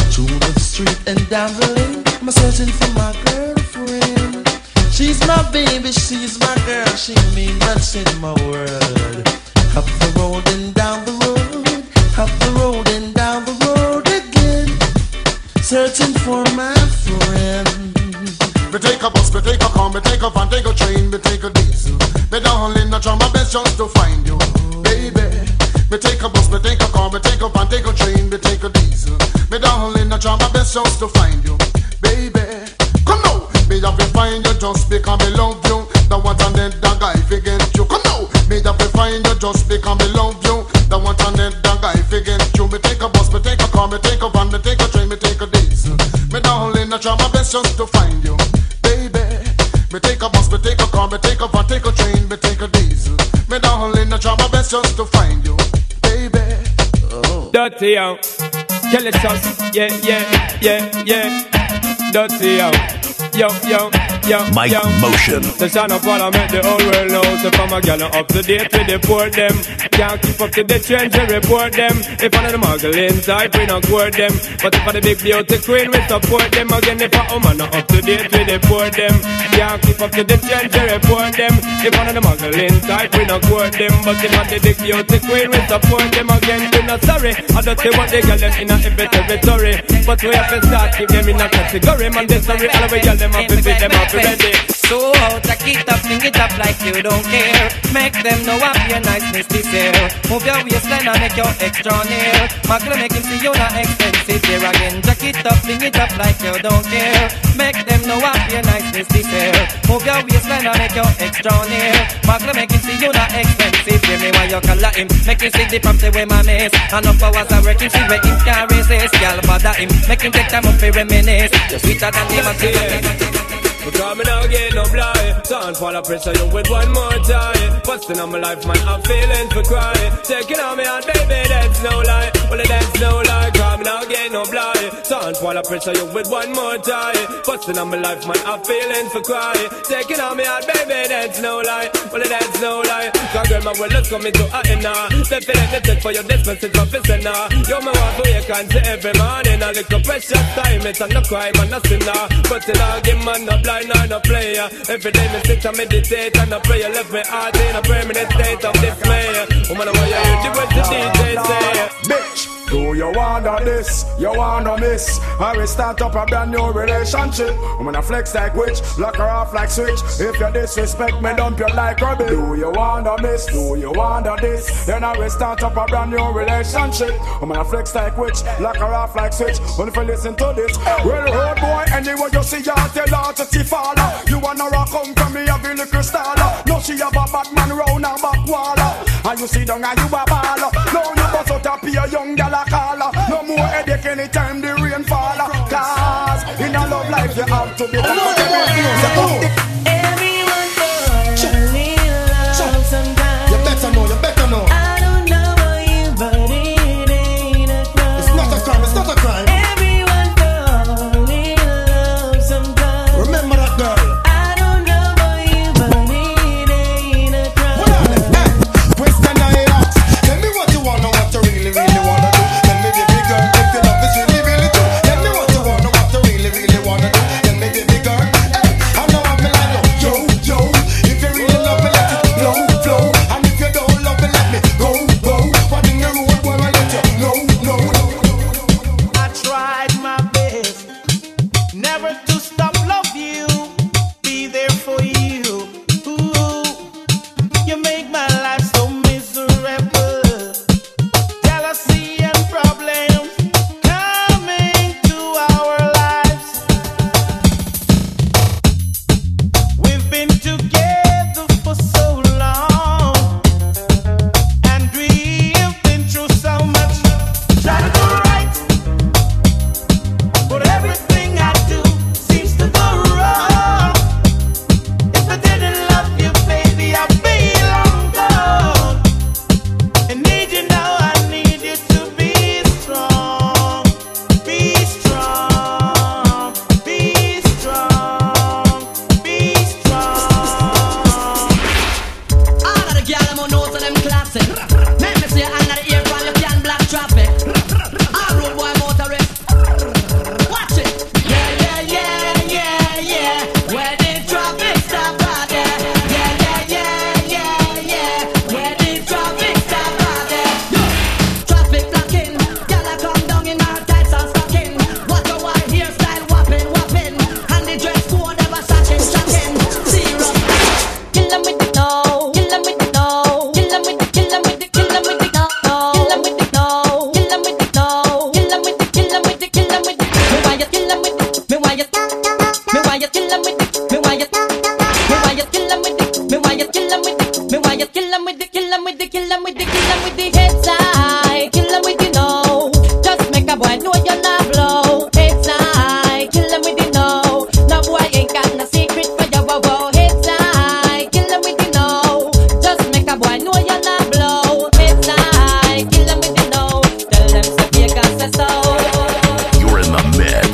Through the street and down the lane, I'm searching for my girlfriend. She's my baby, she's my girl, she means much in my world. Up the road and down the road, up the road and down the road again, searching for my friend. Me take a bus, me take a car, me take a van, take a train, me take a diesel. Me darling, I try my best just to find you, baby. Me take a bus, me take a car, me take a van, take a train, me take a diesel. Me darling, I try my best just to find you, baby. Come now, me have to find you just because me love you. The one and then the guy against you. Come now, me have to find you just because me love you. The one and then the guy against you. Me take a bus, me take a car, me take a van, me take a train, me take a diesel. Me darling, I try my best just to find you, baby. Me take a bus, me take a car, me take a van, take a train, me take a diesel. Me darling, I try my best just to find you, baby. Oh. Dirty out, kill it sauce, yeah, yeah, yeah, yeah. Dirty out, yo, yo, yo, Mike yo. Motion. The sound of what I make the whole world know. So from a gal up to date with the poor them. Can't keep up to the trends to report them. If one of the muggle inside, we not court them. But if for the big beauty queen, we support them. Again, if a woman not up to date with the poor them. Can't keep up to the trends to report them. If one of the muggle inside, we not court them. But if for the big beauty queen, we support them. Again, we not sorry. I don't say what they got them in a every territory. But we have to start keep them in a category. Man, they sorry, all we got them up and fit them up ready. So out, take it up, fling it up like you don't care. Make them know what your niceness this year. Move your waistline and make your extra near. Muggle make him see you not expensive here again. Take it up, fling it up like you don't care. Make them know what your niceness this year. Move your waistline and make your extra near. Muggle make him see you not expensive. Hear me while you color him. Make him see the prompts away my mess. And up hours I work him see where him can resist. Y'all bother him. Make him take time up for reminisce. You're sweeter than the material. Because me now get no blind. Sound fall of pressure you with one more time. Busting on my life, man, I'm feeling for crying. Taking on me out, baby, that's no lie. Well, that's no lie. Cause me now get no blind. Sound fall of pressure you with one more time. Busting on my life, man, I'm feeling for crying. Taking on me out, baby, that's no lie. Well, that's no lie. Cause girl, my world is coming to a end now. They feel like they take for your distance, it's officer now. You're my wife, you can't say every morning. A little precious time, it's not no crime and no sin now. But in a game, man, no blind. I'm a player. Every day me sit and meditate and I pray. Left me heart in a permanent state of dismay. Woman, why you hear the words the D J say? Bitch, do you wanna this? You wanna miss? I will start up a brand new relationship. I'm gonna flex like witch, lock her off like switch. If you disrespect me, dump you like rubbish. Do you wanna miss? Do you wanna this? Then I will start up a brand new relationship. I'm gonna flex like witch, lock her off like switch. Only if you listen to this. Well, road boy, anyway you see her, tell her to see follow. You wanna rock home from me, have a little star. No, she have a bad man round her back wall. And you see down and you a baller. No, you bust out a pure young gal a caller. No more headache anytime the rain fall. Cause in a love life you have to be the Everyone falls in love sometimes. You better know, you better know. I don't know about you, but it ain't a crime. It's not a crime, it's not a crime. Everyone falls in love sometimes. Remember that girl. I don't know about you, but it ain't a crime. What on it? Hey, question I ask. Tell me what you wanna, what you really, really wanna do. Tell me, baby girl, if your love is really, really true. Tell me what you wanna, what you really, really wanna do. Tell me, baby girl, hey, I know I'm like yo, yo. If you really love me, let it flow, flow. And if you don't love me, let me go, go. What in the road, boy, I let you know, know. I tried my best never to stop love you, be there for you. Ooh, you make my life so miserable. Jealousy and problems coming to our lives. We've been together for so long, and we've been through so much. Try to do right,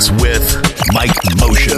X with Mike Motion.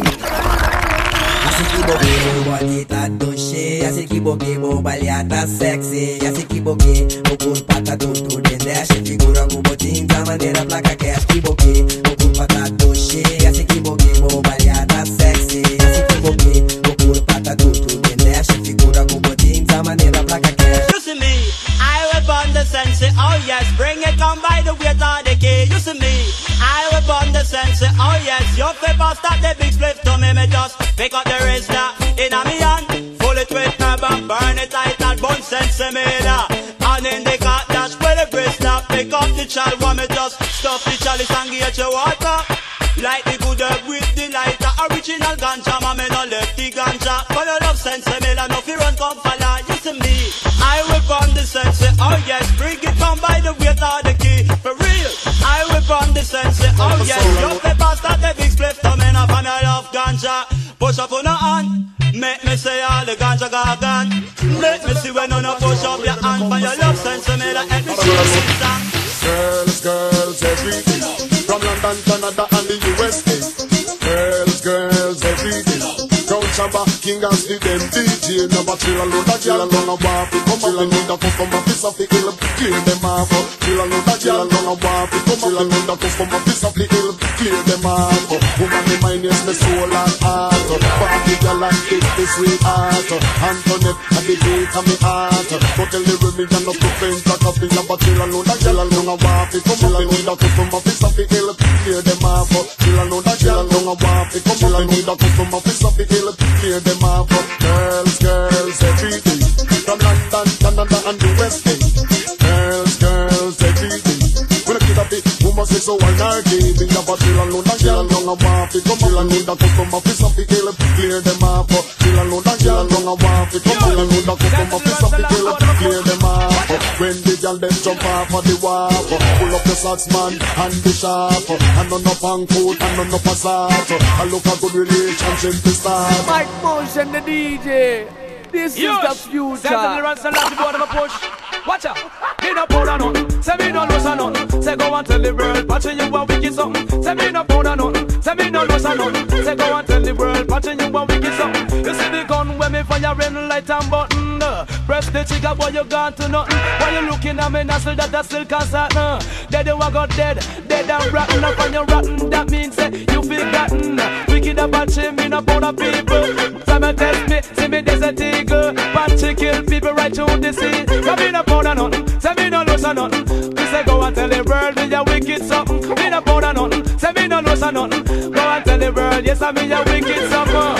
Bonita, touché, assim que boquebo, balhata sexy, assim que boque, o corpo tá todo dentro, figura com botinho da maneira placa que é que boque, o corpo tá touché, assim que boquebo, balhata sexy, assim que boque, o corpo tá todo dentro, figura com botinho da maneira placa que é. You see me, I whip on the sensei, oh yes, bring it on by the weight of the key. You see me, I whip on the sensei, oh yes, your paper start the big split to me, me just pick up the wrist now, in a me hand, full it with herb and burn it like that bun sensei me da. And in the cut dash with the wrist now, pick up the child, want me just stuff the chalice and get your water. Like the good herb with the lighter, original ganja, ma me no left the ganja. For your love sensei me la, no fi run come falla. You see me, I whip on the sensei, oh yes, bring it on by the weight of the key. For real, I whip on the sensei, oh yes, your paper start the big split to me now, for me love ganja. Push up on the hand, make me say all the ganja gargan. Make me see when you no push up your hand, for your love sensei me la, help me see the song. Girls, girls, every day. From London, Canada, and the U S A. Girls, girls, every day. Crown Shabba, King and Steve, them D J. Never chill alone, that chill alone, a wap. Come on, we need a customer, piece of the hill, clear them off. Chill alone, that chill alone, a wap. Come on, we need a customer, piece of the hill, clear them off. Woman, the mind is my soul and heart. Party girl and kick the sweetheart. Antoinette, and the beat of me heart. But tell the women, you're not to faint, like a thing, but chill alone, that chill alone, a wap. Come on, we need a customer, piece of the hill, clear them off. Chill alone, that chill alone, a wap. Come on, we need a customer, piece of the hill, clear them off. Girls, girls, every day. From London, Canada, and the West End. Girls, girls, every day. When I get a bit, woman say so I'm not giving up a chill alone, that chill alone, a wap. Come on, I need a customer, piece of the hill, clear them off. Chill alone, that chill alone, a wap. Come on, I need a customer, piece of the hill, clear them off. When the girl them jump off of the wap, pull up the socks man and the sharp, and on up on coat and on up a sock. I look a good relationship to start. Mike Motion, the D J. This Yes. is the future. Send the runs and let the board of a push. Watch out. Me no powder nothing. Say me no lose a nothing. Say go and tell the world, watching you a wicked something. Say me no powder nothing. Say me no lose a nothing. Say go and tell the world, watching you a wicked something. You see the gun when me firing light and button. Uh, press the trigger, boy you gone to nothing. Why you looking at me nostril that I still can't start? Uh, dead you a got dead, dead and rotten. Up on your rotten, that means say you feel gotten. Wicked about shame, me no powder people. Say me test me, see me there's a eagle. Panty kill people right through the sea. Say me no powder nothing, say me no lose a nothing. Me say go and tell the world me a wicked something. Me no powder nothing, say me no lose a nothing. Go and tell the world, yes I me a wicked something.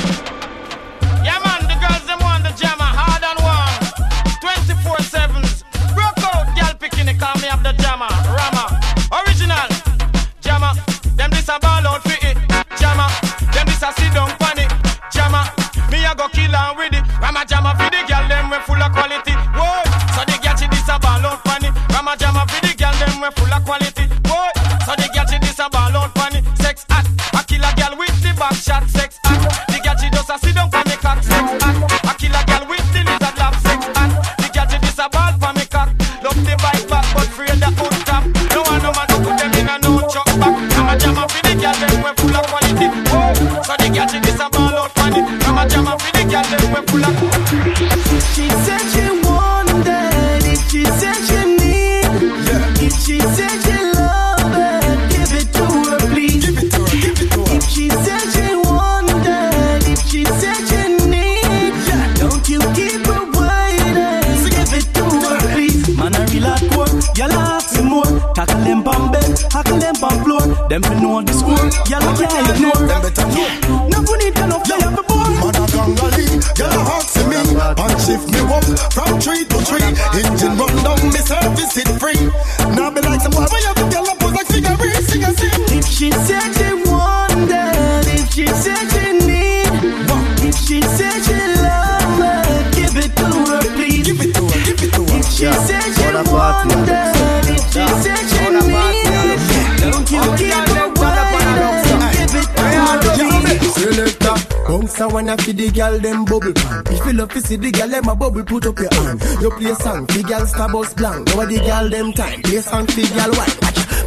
Yeah man, the girls them want the jammer, hard and warm. twenty-four sevens, broke out, girl picking it, call me up the jammer, Rama, original, jammer. Them this a ball out for it, jammer. Them this a sit down panic, jammer. Me a go kill and with it, Rama jammer for the girl them we full of quality. Whoa, so the girl she this a ball out panic, Rama jammer for the girl them we full of quality. Whoa, so the girl she this a ball out panic, sex hot. I kill a girl with the back shot, sex hot. The girl she just a sit down for me cock, sex hot. I kill a girl with the lizard lap, sex hot. The girl she this a ball for me cock, love the bike back but afraid the hood top. No one no man to put them in a no chuck back. Rama jammer for the girl them we full of quality. Whoa, so the girl she this a ball out panic, Rama jammer for the girl them we full of. She said she wanted it, she said she need. If she said she love it, give it to her please. If she said she wanted, if she said she need, don't you keep her waiting. Give it to her please. Man a real hardcore, y'all ask me more. Tackle them on bed, tackle them on floor. Them fi know the score, y'all can't ignore. Them better know. No good need enough, you have a boy. Mother Gangali, y'all ask me. And shift me up from tree to tree. Engine run down, me service it free. Now be like some boy, when you have to get up, pose like cigarette, sing and sing. If she said she wanted, if she said she need, if she said she love her, give it to her please. Give it to her, give it to her. If she Yeah. said she wanted, if she said she need, don't you keep her waiting. Give it to her please. Selector, bounce a wanna feed the girl them bubble pan. If you love to see the girl them a bubble, put up your hand. You play song, the girl star bus blank. Now the girl them time, play song, the girl white.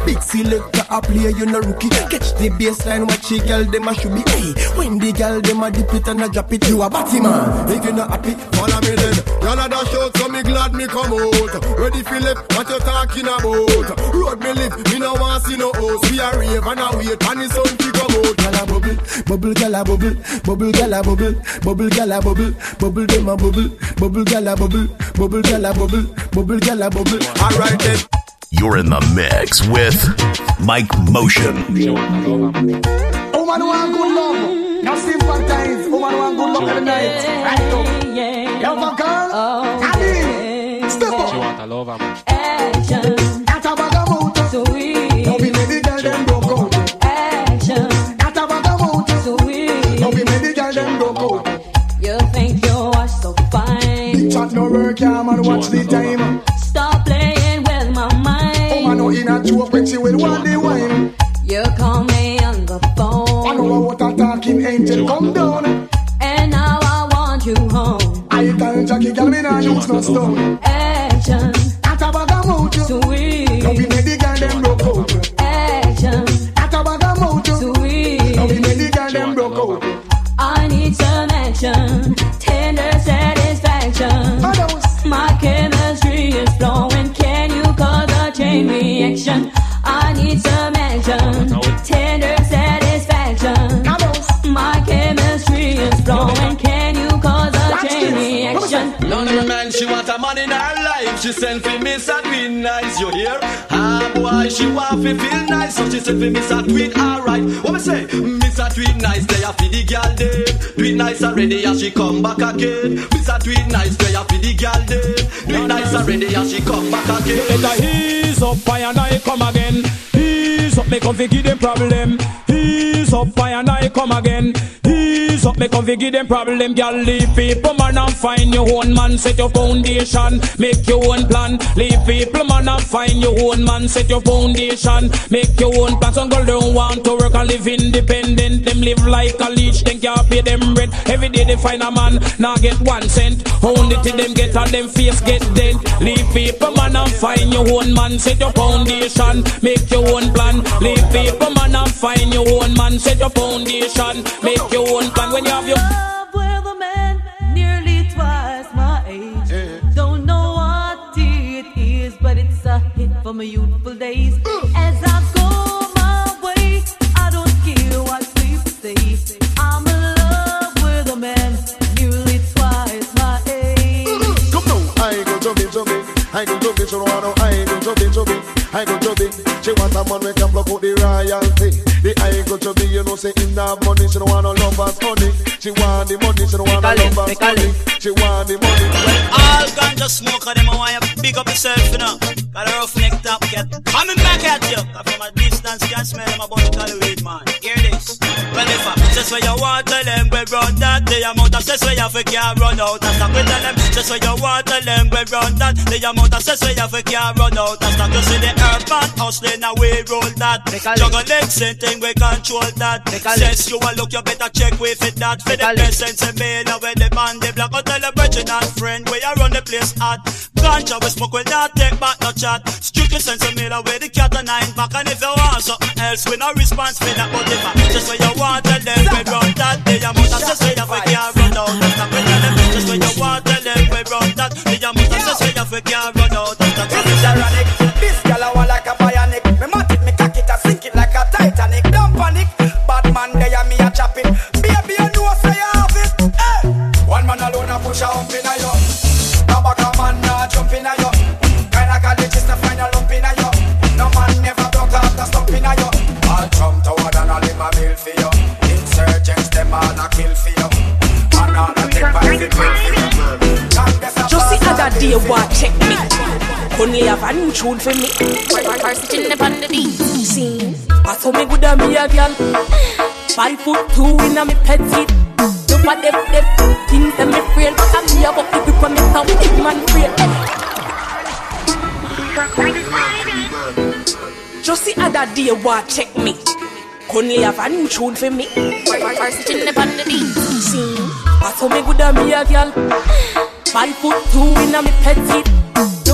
Big selector a play, you no rookie. Catch the baseline, watch the girl dem a should be. Hey, when the girl dem a dip it and a drop it, you a batty man. If you not happy, follow me then. Y'all a dash out, so me glad me come out. Ready Philip, what you talking about? Road me live, me no want see no house. We a rave and a wait, and the sun fi come out. Gyal a bubble, bubble gyal a bubble, bubble gyal a bubble, bubble gyal a bubble, bubble dem a bubble, bubble gyal a bubble, bubble gyal a bubble, bubble gyal a bubble. Alright then. You're in the mix with Mike Motion. Woman want good love, now sympathize. Woman want good love every night. Right up. You have a girl? Ali, step up. She want a lover. Action. That's a bag of motor. Sweet. Don't be made the girl them broke out. Action. That's a bag of motor. Sweet. Don't be made the girl them broke out. You think you are so fine. Big chat no work, yeah man, watch the time. Stop playing with my mind. Oh man, no in a joke when she will want the wine. You call me on the phone. I know what a talking angel come down. And now I want you home. I tell Jackie, girl, me nah use no stone. Action. That's a bag of mojo. Sweet. Don't be made the girl them broke out. Action. That's a bag of mojo. Sweet. Don't be made the girl them broke out. I need some action. Tender satisfaction. My chemistry is flowing. Can you cause a chain reaction? I need some action. Tender satisfaction. My chemistry is flowing. Can you cause a chain reaction? London man, she want a man in her life. She send for Miss a tweet nice, you hear? Ah boy, she want to feel nice, so she send for Miss a tweet alright. What me say? Miss a tweet nice, they have for the girl dead. Tweet nice already, and she come back again. Miss a tweet nice, they have for the girl dead. Tweet nice already, and she come back again. Let her ease up, I and I come again. Ease up, me come fi give them problem. Ease up, I and I come again. Ease up, me come fi give them problem. Girl, leave people man and find your own man. Set your foundation, make your own plan. Leave people man and find your own man. Set your foundation, make your own plan. Some girl don't want to work and live independent. Them live like a leech, then can't pay them rent. Every day they find a man, now get one cent. Only till them get on them face get dent. Leave people man and find your own man. Set your foundation, make your own plan. Leave people man and find your own man. Set your foundation, make your own plan. When you have your love with a man nearly twice my age. Yeah. Don't know what it is, but it's a hit for my youthful days. Uh. As I go my way, I don't care what people say. I'm in love with a man nearly twice my age. Uh. Come now, I go jumping, jumping. I go jumping, so I know I go jumping, jumping. I go jumping. She want a man we can block out the royalty. The I go jumping, you know say in that money. She don't want no lovers honey. She want the money, she don't want no lovers honey. She want the money. All ganja smoker, them I want you big up yourself, you know. Got a rough neck top cat coming back at you. Cause from a distance you can smell them about the weed, man. Hear this. Well, if I just where you want, tell them we run that. The amount of stress where you can't run out. And stop with them. Just where you want, tell them we run that. The amount of stress where you can't run out. And stop. You see the earth man hustling and we roll that. Juggle legs, same thing we control that. Says you a look, you better check with it that. For the presence and mail with the man, the black. Or tell the brethren and friend where you run the place at. Ganja we smoke will not take back no chat. Strictly sense of mail with the cat and nine back. And if you want something else, we no response for that. But if I just where you want, tell them we run that. The amount of stress where you can't run out. Stop with them. Just where you want, tell them we run that. The amount of stress where you can't run out. Stop with them. This girl I want like a bionic. Me mat it, me cock it, I sink it like a Titanic. Don't panic, bad man they and me a chop it. Baby you know say you have it. Hey. One man alone a push a hump in a yo. No back a man nah jump in a yo. Kinda college is to find a lump in a yo. No man never broke off the stump in a yo. All jump toward and all him a bill for you. Insurgents them all a kill for you. And all a take back the bill for you. Just the other day what check me. Only have a new tune for me. First sitting up on the beat. See, I saw me good at me a girl. Five foot two in a me petite. Look at them, them things that me frail. But I'm here about the people me top big man frail. Just the other day what check me. Only have a new tune for me. First sitting up on the beat. See, I saw me good at me a girl. Five foot two in a me petite.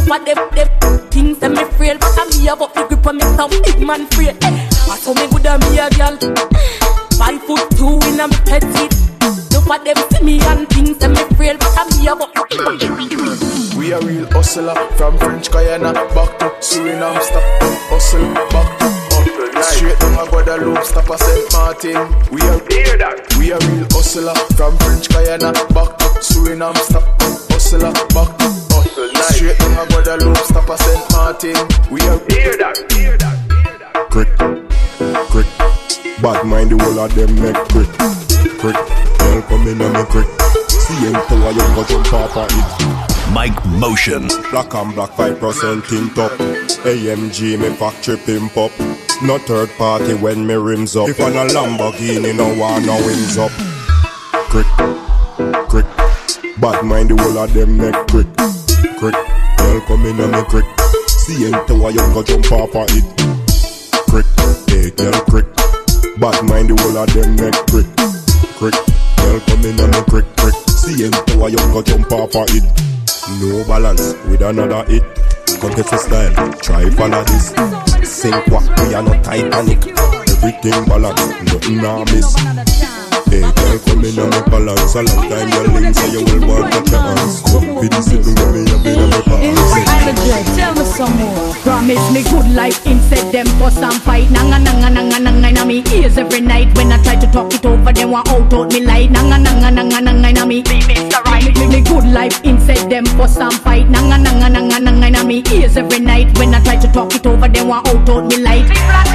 Look at them, them things that me frail, but I'm here about the grip on me some big man frail. I saw me good and me a girl. Five foot two in a me petite. Look at them see me and things that me frail, but I'm here about the We a real hustler from French Guyana back to Suriname. Stop hustle back to hustle. Straight down a Guadeloupe, stop a Saint Martin. We a hear that. We a real hustler from French Guyana back to Suriname. Stop hustler back to hustle. Straight down a Guadeloupe, stop a Saint Martin. We a hear that. Hear that. Crick, crick. Bad mind the whole of them make crick, crick. Girl come in and me crick. See him power you go jump off of it. Mike Motion. Black and black five percent tint up. A M G me factory pimp up. No third party when me rims up. If I'm a Lamborghini no one no wings up. Crick, crick. Bad mind the whole of them make crick, crick. Girl come in and me crick. See him power you go jump off of it. Crick, hey girl crick. Bad mind the whole of them make crick, crick. Girl come in and me crick, crick. See him power you go jump off of it. No balance with another hit. Contest style, try follow this. Sink what we are not Titanic. Everything balance, nothing I miss. Hey girl come in and me balance. A long time your links so you will want to your hands. Come for this sitting with me up in my pants. Tell me some more. Promise me good life instead them for some fight. Nanga nanga nanga nanga na me ears every night. When I try to talk it over them want out out me light. Nanga nanga nanga nanga na me Mister Right. Me, me good life instead them for some fight. Nanga nanga nanga nanga na me ears every night. When I try to talk it over them want out out me light.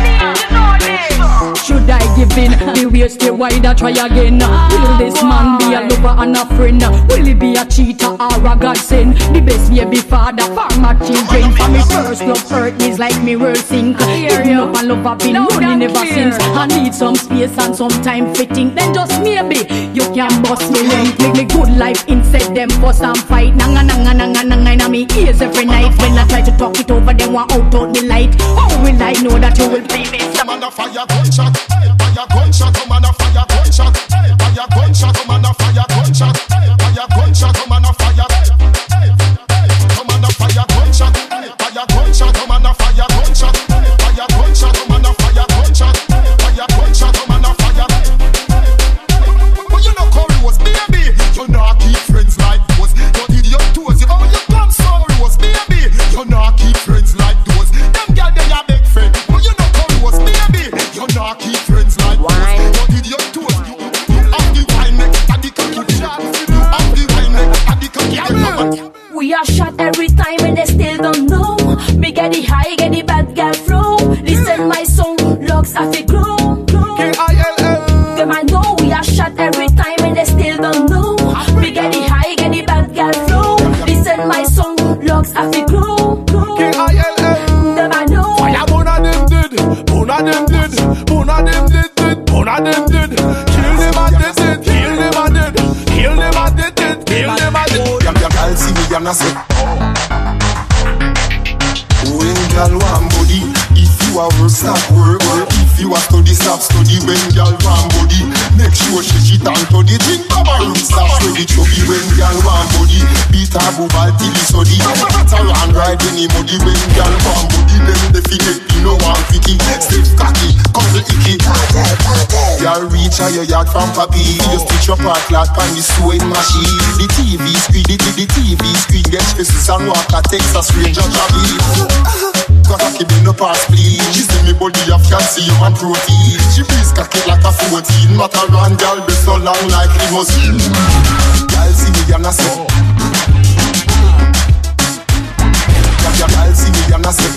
Should I give in? The way stay wide, I try again. Will this man be a lover and a friend? Will he be a cheater or a godsend? The best baby father for my children. For me first love hurt is like me world sink. Picking up and love I've been running ever since. I need some space and some time fitting. Then just maybe you can bust me link. Make me good life instead them for some fight. Nanga nanga nanga nanga na me ears every night. When I try to talk it over them want out out me light. How will I know that you will be me? Man a fire gunshot, fire gunshot, oh man a fire gunshot, fire gunshot, oh man a fire gunshot, fire gunshot, oh man a fire, oh man a fire gunshot, fire gunshot, oh man a fire gunshot, fire gunshot, oh man a fire gunshot, fire gunshot, oh man a fire. But you know Corey was baby, you know keep friends like those. You did your toes, oh you come sorry was baby, you know keep friends like those. Them girl they a big friend, but you know Corey was baby, you know keep friends like those. You did your toes, you have the wine next to the cocky shot, you have the wine next to the cocky. We are shot every time and they still don't know. Me get the high, get the bad girl flow. Listen my song, locks have to grow. Them I know we are shot every time and they still don't know. Me get the high, get the bad girl flow. Listen my song, locks have to grow. Them I know. Fire one of them did, one of them did, one of them did, did, one of them did. Kill them and did it, kill them and did, kill them and did it, kill them and did. Yam yam girl see me yam na say. When girl want body, if you a work stop work, work. If you a study stop study. When girl want body, make sure she shit and to the thing. Come on, room stop study chubby. When girl want body, beat her bubble till he study. Beat her and ride any muddy. When girl want body, then the figure you know one fitty. Stiff cocky, couple icky. Girl reach her your yard from papi. You stitch up her cloth on the sewing machine. The T V screen, the, the, the T V screen get faces and walk a Texas Ranger Jabby. Got a kid in the past, please. She say me body of calcium and protein. She please cock it like a fourteen. Matter run, girl, be so long like limousine. Girl, see me, I'm not say. Girl, see me, I'm not say.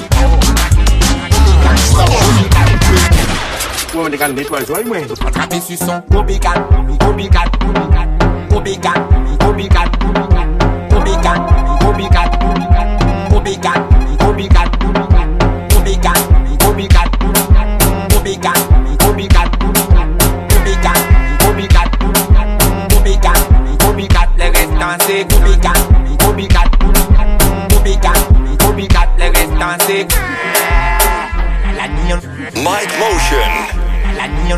Woman, they can be twelve, right? When attrape sur son copycat, copycat, copycat, copycat, copycat, copycat, copycat, copycat, copycat, copycat, copycat, copycat, copycat, copycat, copycat, copycat, copycat, les restants c'est copycat, copycat, copycat, copycat, les restants c'est Mike Motion. La nion,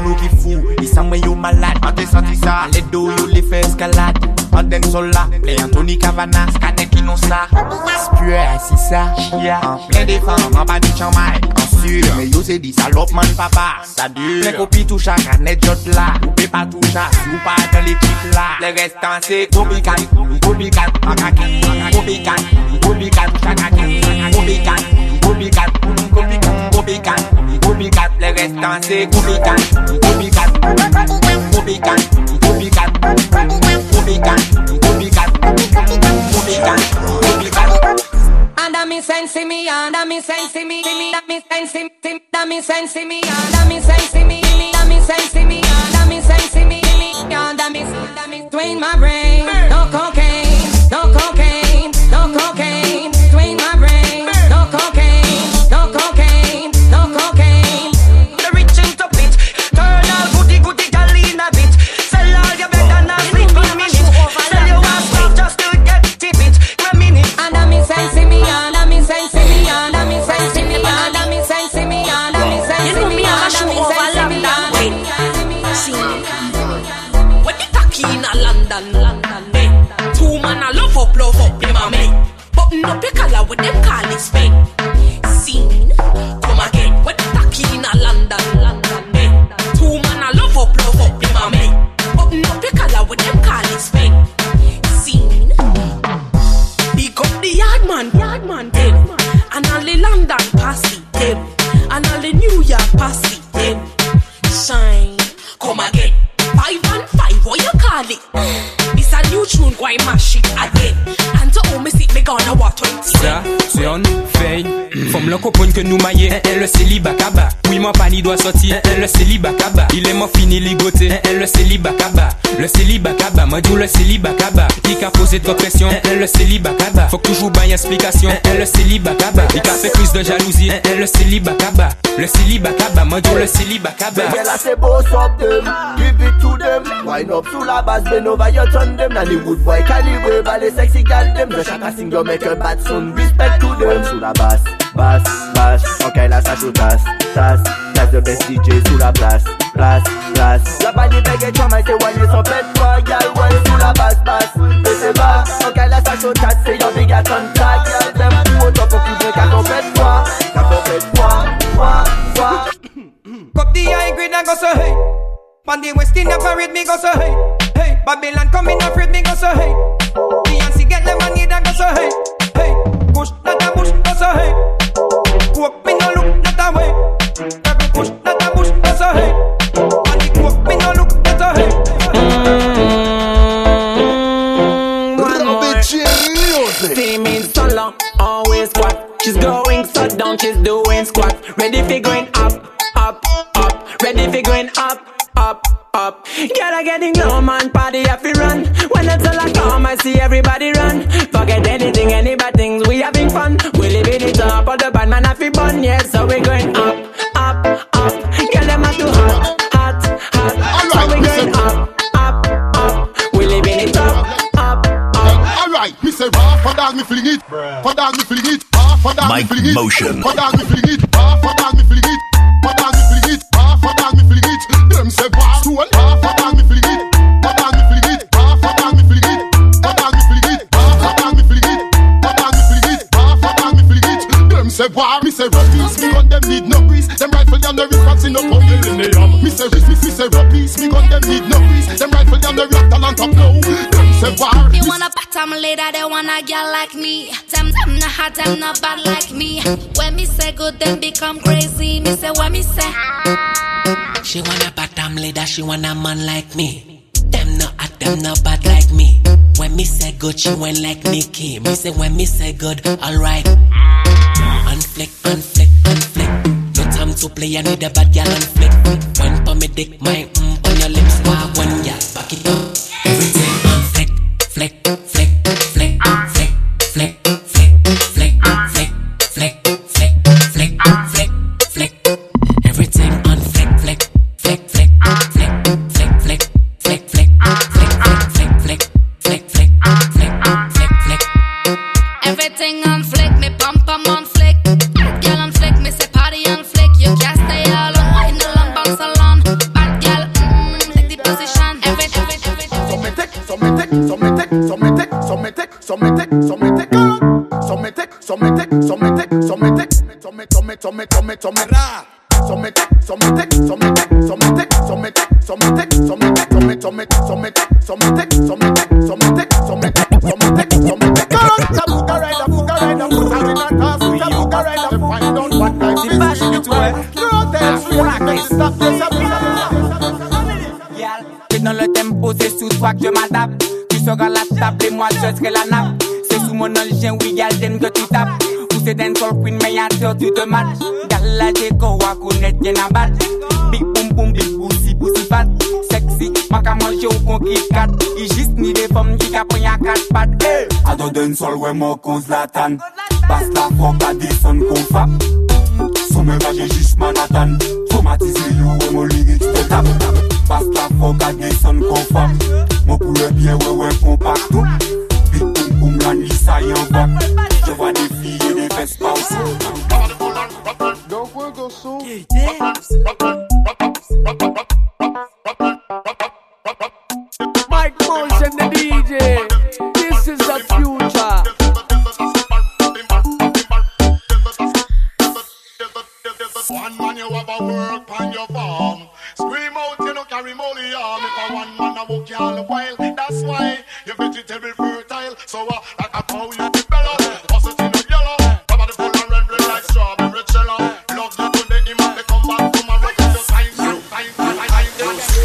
nou ki fou, di sa mwen yo malade. An te santi sa, le do yo le fe eskalade. An den sol la, le Anthony Cavana, skane ki non sa. Spue si sa, chia, plein de femmes, an pa di chanmay. An sur, me yo se di salop man papa. Sa dure, plein kopi toucha, kanet jot la. Ou pe pa toucha, ou pa dans l'équipe la. Le restant c'est Kobikan, Kobikan, Akaki, Kobikan, Kobikan, Akaki, Kobikan, Kobikan, Kobikan, Kobikan, Kobikan. Le restant c'est Kobikan, Kobikan, Kobikan, Kobikan, Kobikan, Kobikan, Kobikan, Kobikan. Anda mi sensi mi, anda mi sensi mi, anda mi sensi mi, anda mi sensi mi, anda mi sensi mi, anda mi sensi mi, anda mi sensi mi, anda mi, anda mi, twin my brain, no cocaine, no cocaine, no cocaine, twin my brain, no cocaine, no cocaine, no cocaine. The rich into it, turn all goody goody gal in a bit, sell all your bed and not sleep in a minute, sell your ass stuff just to get tip it, a minute. Anda mi sensi mi, anda mi sensi mi, anda mi sensi mi, anda mi sensi mi, anda mi sensi mi, anda mi sensi mi, anda mi sensi mi. When you tacky in a London, London, eh? Two man a love up, love up, them a me. Button up your collar with them call it Spain. Scene, come again. When you tacky in a London, London, eh? Two man a love up, love up, them a me. Button up your collar with them call it Spain. Scene, pick up the yard man, yard man, them. And all the London passy, them. And all the New York passy, them. Shine, come again. Five and five, what you call it? It's a new tune, go and mash it again. And to home, sit me gonna watch twenty. Ça, c'est en veille. Femme le copain que nous maillons, le célibat kaba. Oui, mon pani doit sortir, le célibat kaba. Il est mon fini ligoté, le célibat kaba. Le célibat kaba, moi dis le célibat kaba. Il a posé de pression, le célibat kaba. Faut que toujours bailler explication, le célibat kaba. Il a fait plus de jalousie, le célibat kaba. Le célibat kaba, moi dis le célibat kaba. Mais là c'est beau, stop them, give it to them. Wine up sous la base, bend over your turn them. Nanny wood boy, calibre, ballet sexy gal them. The shaka sing, you make a bad son, respect to them. Sous la basse, basse, basse, ok là ça joue tasse, tasse, tasse the best D J sous la place, place, place. La balle est belle et tu m'as été wine, son pet toi, gal, ouais, sous la basse, basse. Mais c'est bas, ok là ça joue tasse, c'est your big at on tag, gal, them. Ou au top, au plus de qu'à ton pet toi, qu'à ton pet toi, toi, toi. Cup the high grade and go so hey. On the West Indian parade me go so hey. Hey, Babylon come in afraid me go so hey. Beyonce get the money that go so hey. Hey, push not a push go so hey. Walk me no look not a way. Every push not a push go so hey. On the walk me no look not a hey. Steaming so long, always squat. She's going so down, she's doing squat. Ready for going up, up, up. Ready for going up, up, up. Girl, I getting low, man, party have to run. When the tell I come, I see everybody run. Forget anything, any bad things, we having fun. We live in the top of the bad man have to bun, yeah. So we going up, up, up. Girl, them are too hot, hot, hot. So we going up, up, up. We live in the top, up, up. Alright, me say raw, for dog me fling it, for dog me fling it, for dog me fling it, Motion. for dog me fling it, for dog me fling it, for dog me fling it, for dog me fling it. Them say bar stool, for dog me fling it, for dog me fling it, for dog me fling it, for dog me fling it, for dog me fling it, for dog me fling it, for dog me fling it. Them say bar, me say rubbies, me gun them need no grease. Them rifle them the refracts in no pump in the yam. Me say me me say rubbies, me gun them need no grease. Them rifle them the reactor on top now. Them say bar. You wanna bottom later, they want a girl like me. Them them not hot, them not bad like me. When me say good, them become crazy. Me say what me say. She want a bottom leader, she want a man like me. Them not hot, them not bad like me. When me say good, she went like Nicki. Me say when me say good, alright. Unflick, unflick, unflick. No time to play, I need a bad girl unflick. One for me dick, my mm on your lips. Wow, one yeah, back it up. Everything unflick, flick, flick, flick, flick, flick, flick, flick, flick, flick, flick, flick, flick, flick. Everything unflick, flick, flick, flick, flick, flick, flick, flick, flick, flick, flick, flick, flick, flick, flick, flick, flick. Everything on flick, me bump em on flick. Girl on flick, me say party on flick. You can't stay all on, wine along, bounce along. Bad so me, so me, so me, ra. So me, so me, take, so me, so me, take, so me, so me, take, so me, so me, so me, so me, so me, take, so me, so me, take, so me, so me, take, so me, take. Go on, buka rider, buka rider, buka rider, buka buka rider. Find out what time it is. Girl, dance, relax, stop this, stop this. Dans le tempo, c'est sous toi que je m'adapte. Tu seras la table et moi je serai la nappe. C'est sous mon engin, oui, gal, j'aime que tu tapes. Ou c'est d'un soul queen, mais y'a toi, tu te matches. Gal, la déco, à connaître, y'en a battre. Big boom boom, big boussi, boussi fat. Sexy, ma ka manger au conquis cat. Il juste ni des femmes qui caponnent à quatre pattes. Hey! Ado d'un soul, ouais, moi, cause la tanne. Passe la force à descendre qu'on frappe. Somme là, j'ai juste Manhattan. Traumatisé, you, ouais, mon lyrics, te tape. Passe la force à descendre qu'on frappe. Mon poulet bien, ouais, ouais, compact. Big boom boom, la nuit, ça y en va. Je vois des filles et des fesses pas aussi. Don't worry, go soon. Mike Motion, the D J. This is the future. One man you have a work on your farm. Scream out, you no carry molly arm. If a one man a walk you all the while, that's why your vegetable fertile. So uh, like a cow you develop, also in the yellow. Cover the full and red, red like strawberry jello. Love you today, him and they come back from a rock. Just time, time, time, time, time.